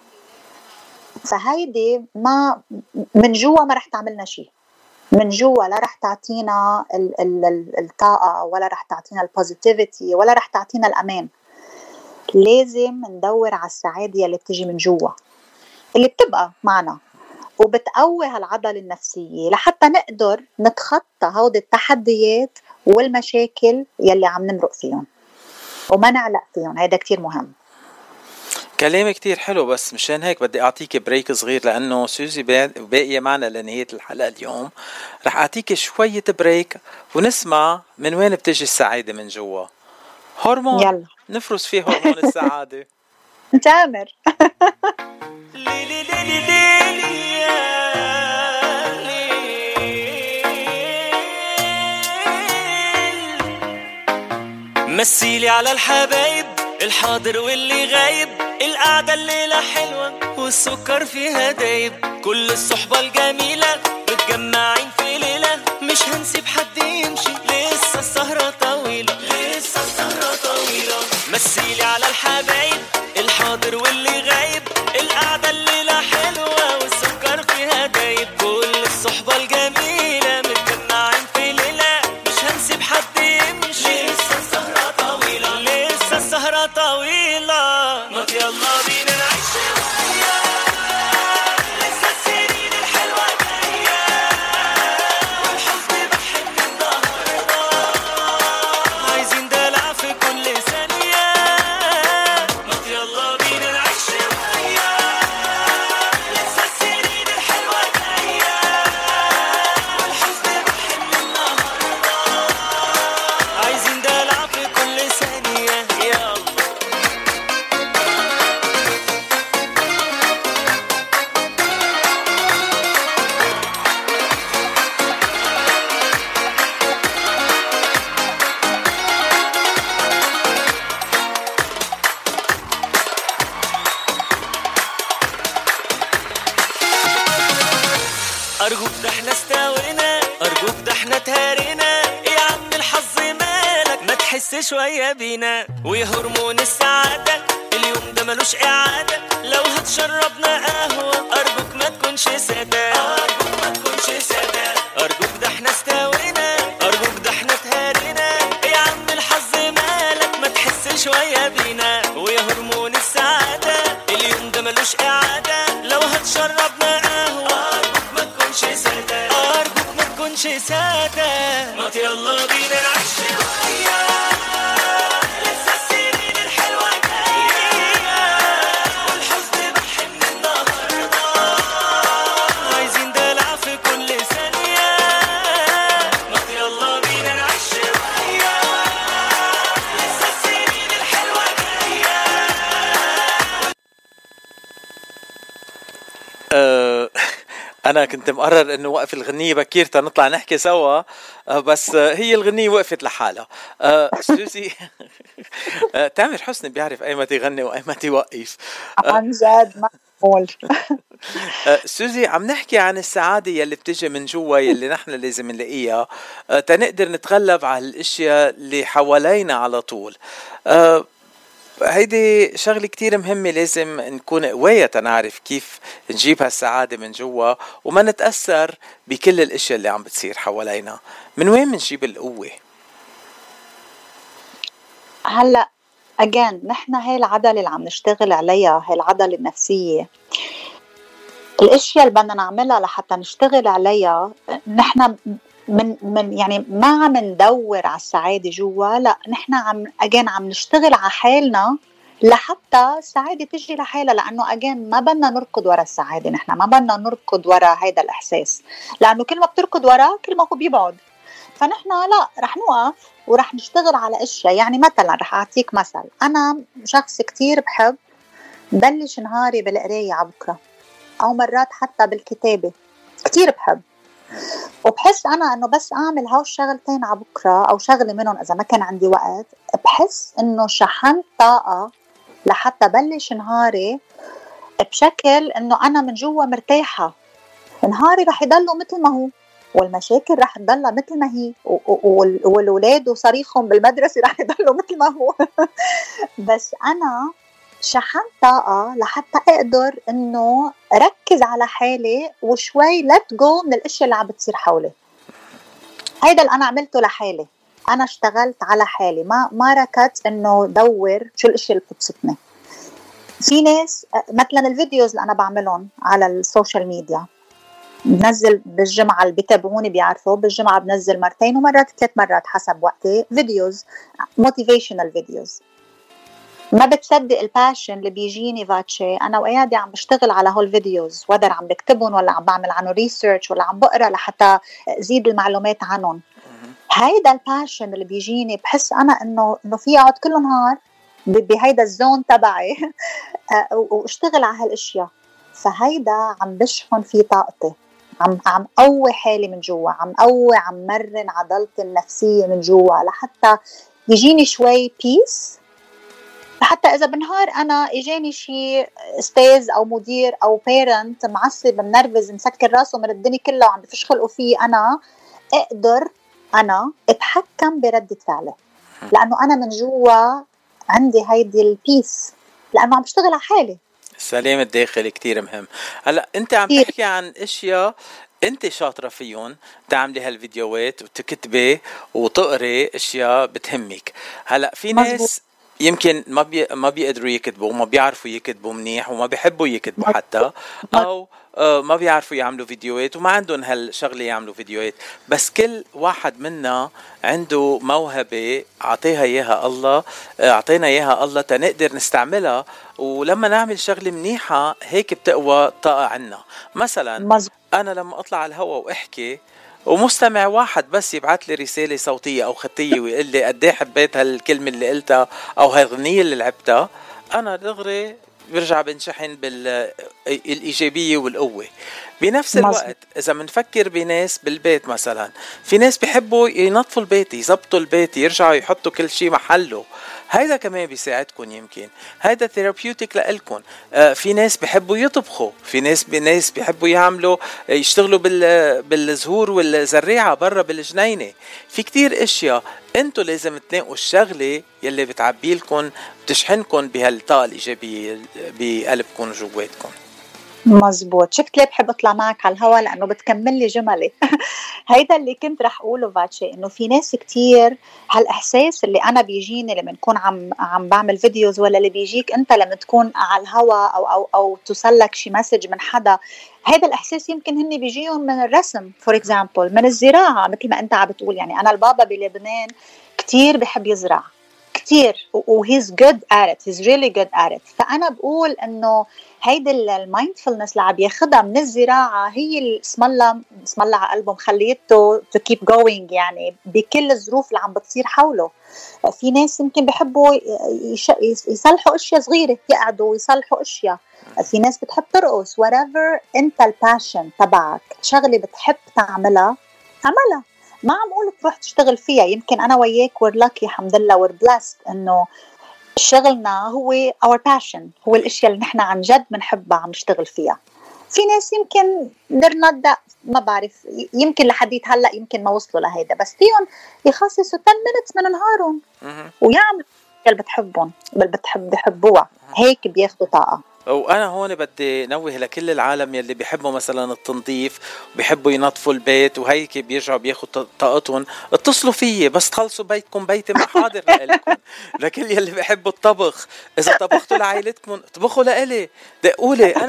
Speaker 18: فهيدي ما من جوا ما رح تعملنا شيء، من جوا لا رح تعطينا الطاقة ولا رح تعطينا البوزيتيفيتي ولا رح تعطينا الأمان. لازم ندور على السعادة يلي بتجي من جوا، اللي بتبقى معنا وبتقوي هالعضلة النفسية لحتى نقدر نتخطى هود التحديات والمشاكل يلي عم نمرق فيهم وما نعلق فيهم. هيدا كتير مهم.
Speaker 9: كلام كتير حلو، بس مشان هيك بدي أعطيك بريك صغير لأنه سوزي باقية معنا لنهاية الحلقة اليوم. رح أعطيك شوية بريك ونسمع من وين بتجي السعادة من جوا. هرمون يلا. نفرز فيه هرمون السعادة.
Speaker 18: تامر.
Speaker 19: مسيلي على الحبايب الحاضر واللي غايب، القعدة الليلة حلوة والسكر فيها دايب، كل الصحبة الجميلة متجمعين في ليلة، مش هنسيب حد يمشي لسه السهرة طويلة، لسه السهرة طويلة. مسيلي على الحبايب الحاضر واللي غايب، القعدة الليلة حلوة والسكر فيها دايب، كل الصحبة الجميلة متجمعين في ليلة، مش هنسيب حد يمشي لسه السهرة طويلة، لسه السهرة طويلة. ما يلا بينا نعيش شوية، لسه السنين الحلوة جاية، والحزن بحن النهاردة، عايزين دلع في كل ثانية. ما يلا بينا نعيش شوية، لسه السنين الحلوة جاية، والحزن بحن النهاردة، عايزين دلع في كل ثانية. يلا أرجوك ده احنا استوينا، أرجوك ده احنا تهارينا، يا عم الحظ مالك ما تحس شوية بينا، ويا هرمون السعادة اليوم ده ملوش إعادة، لو هتشربنا قهوة أرجوك ما تكونش سادة، أرجوك ما تكونش سادة، أرجوك ده احنا استوينا، أرجوك ده احنا تهارينا، يا عم الحظ مالك ما تحس شوية بينا، ويا هرمون السعادة اليوم ده ملوش إعادة، لو هتشربنا قهوة سادة، أرجوك ما تكونش سادة. ما يلا بينا نعيش شوية، لسه السنين الحلوة جاية، والحزن بحن النهاردة، عايزين دلع في كل ثانية. ما يلا بينا نعيش شوية، لسه السنين الحلوة جاية. أنا كنت مقرر إنه وقف الغنية بكير تنطلع نحكي سوا، بس هي الغنية وقفت لحالها. سوزي تامر حسني بيعرف أي متى يغني وأي متى يوقف.
Speaker 18: عن جد معقول.
Speaker 9: سوزي عم نحكي عن السعادة يلي بتجي من جوا، يلي نحن لازم نلاقيها تنقدر نتغلب على الأشياء اللي حوالينا على طول. هيدي شغلة كتير مهمة، لازم نكون قوية تنعرف كيف نجيب هالسعادة من جوا وما نتأثر بكل الاشياء اللي عم بتصير حوالينا. من وين منجيب القوة؟
Speaker 18: هلأ أجان نحن هاي العضلة اللي عم نشتغل عليها، هاي العضلة النفسية، الاشياء اللي بدنا نعملها لحتى نشتغل عليها، نحن من يعني ما عم ندور على السعادة جوا، لا نحن عم نشتغل على حالنا لحتى السعادة تجي لحالها، لأنه أجين ما بدنا نركض ورا السعادة، نحن ما بدنا نركض ورا هيدا الإحساس، لأنه كل ما بتركض وراه كل ما هو بيبعد. فنحن لا، رح نوقف ورح نشتغل على أشياء. يعني مثلا رح أعطيك مثل، أنا شخص كتير بحب بلش نهاري بالقراية على بكرة، أو مرات حتى بالكتابة، كتير بحب، وبحس أنا أنه بس أعمل هاو الشغلتين على بكرة أو شغلة منهم إذا ما كان عندي وقت، بحس أنه شحنت طاقة لحتى بلش نهاري بشكل أنه أنا من جوا مرتاحة. نهاري رح يضلوا مثل ما هو، والمشاكل رح تضلها مثل ما هي، والولاد وصريخهم بالمدرسة رح يضلوا مثل ما هو بس أنا شحنت طاقة لحتى أقدر إنه ركز على حالي وشوي let go من الأشياء اللي عم بتصير حولي. هيدا اللي أنا عملته لحالي، أنا اشتغلت على حالي، ما ركضت إنه دور شو الأشياء اللي بتبسطني. في ناس مثلا الفيديوز اللي أنا بعملهم على السوشيال ميديا، بنزل بالجمعة، اللي بيتابعوني بيعرفوا بالجمعة بنزل 2 ومرات 3 مرات حسب وقتي فيديوز motivational فيديوز. ما بتصدق الباشن اللي بيجيني فاتشي أنا وقاعدة عم بشتغل على هول فيديوز، وقدر عم بكتبهم ولا عم بعمل عنه ريسيرش ولا عم بقرأ لحتى زيد المعلومات عنهم. هيدا الباشن اللي بيجيني بحس أنا إنه في أقعد كل نهار بهيدا الزون تبعي واشتغل على هالاشياء. فهيدا عم بشحن فيه طاقتي، عم قوي حالي من جوا، عم مرن عضلتي النفسية من جوا لحتى يجيني شوي بيس، حتى إذا بالنهار أنا إجاني شي أستاذ أو مدير أو بيرنت معصب منرفز مسكر راسه من الدنيا كلها وعم بفش خلقه فيه، أنا أقدر أتحكم بردة فعله، لأنه أنا من جوا عندي هيدي البيس، لأنه عم بشتغل على حالي.
Speaker 9: السلام الداخلي كتير مهم. هلأ أنت عم تحكي عن أشياء أنت شاطرة فيهم، تعملي هالفيديوهات وتكتبي وتقري أشياء بتهمك. هلأ في ناس يمكن ما بيقدروا يكتبوا، ما بيعرفوا يكتبوا منيح، وما بيحبوا يكتبوا حتى، أو ما بيعرفوا يعملوا فيديوهات وما عندهم هالشغلة يعملوا فيديوهات. بس كل واحد منا عنده موهبة عطيها إياها الله، عطينا إياها الله تنقدر نستعملها، ولما نعمل شغلة منيحة هيك بتقوى طاقة عنا. مثلا أنا لما أطلع على الهواء وأحكي ومستمع واحد بس يبعث لي رسالة صوتية أو خطية ويقول لي قد ايه حبيت هالكلمة اللي قلتها أو هالغنية اللي لعبتها، أنا دغري برجع بنشحن بالإيجابية والقوة. بنفس الوقت إذا منفكر بناس بالبيت، مثلا في ناس بيحبوا ينظفوا البيت، يزبطوا البيت، يرجعوا يحطوا كل شيء محله، هيدا كمان بيساعدكم. يمكن هيدا ثيرابيوتيك لإلكم. في ناس بيحبوا يطبخوا، في ناس بيحبوا يشتغلوا بالزهور والزريعة برا بالجنينة. في كتير اشياء انتو لازم تلاقوا الشغلة يلي بتعبيلكم بتشحنكم بهالطاقة الإيجابية بقلبكم وجواتكم.
Speaker 18: مزبوط. شفت ليه بحب اطلع معك على الهواء؟ لانه بتكمل لي جملي هيدا اللي كنت رح اقوله فاتشي، انه في ناس كتير هالاحساس اللي انا بيجيني لما نكون عم بعمل فيديوز، ولا اللي بيجيك انت لما تكون على الهواء او توصلك شي مسج من حدا، هذا الاحساس يمكن هن بيجيهم من الرسم فور اكزامبل، من الزراعه، مثل ما انت عم بتقول. يعني انا البابا بلبنان كتير بحب يزرع كتير، وهيز جود ات ات، هيز ريلي جود ات ات. فانا بقول انه هيدي المايندفولنس اللي عم ياخدها من الزراعه هي اللي اسم الله على قلبه مخليته تو كيب جوينج، يعني بكل الظروف اللي عم بتصير حوله. في ناس يمكن بيحبوا يصلحوا اشياء صغيره، يقعدوا ويصلحوا اشياء. في ناس بتحب ترقص. whatever انت الباشن تبعك، شغله بتحب تعملها اعملها، ما عم اقول تروح تشتغل فيها. يمكن انا وياك we're lucky الحمد لله we're blessed انه شغلنا هو our passion، هو الاشياء اللي نحن عن جد بنحبها عم نشتغل فيها. في ناس يمكن ما بعرف، يمكن لحديت هلا يمكن ما وصلوا لهيدا، بس فيهم يخصصوا 10 minutes من نهارهم ويعملوا اللي بتحبهم بحبوها، هيك بياخدوا طاقه.
Speaker 9: وأنا هون بدي نوه لكل العالم يلي بيحبوا مثلا التنظيف وبيحبوا ينظفوا البيت وهيك بيرجعوا بياخدوا طاقتهم، اتصلوا فيي بس تخلصوا بيتكم، بيتي ما حاضر لكم. لكل يلي بيحبوا الطبخ، إذا طبختوا لعائلتكم طبخوا لإلي، دقولي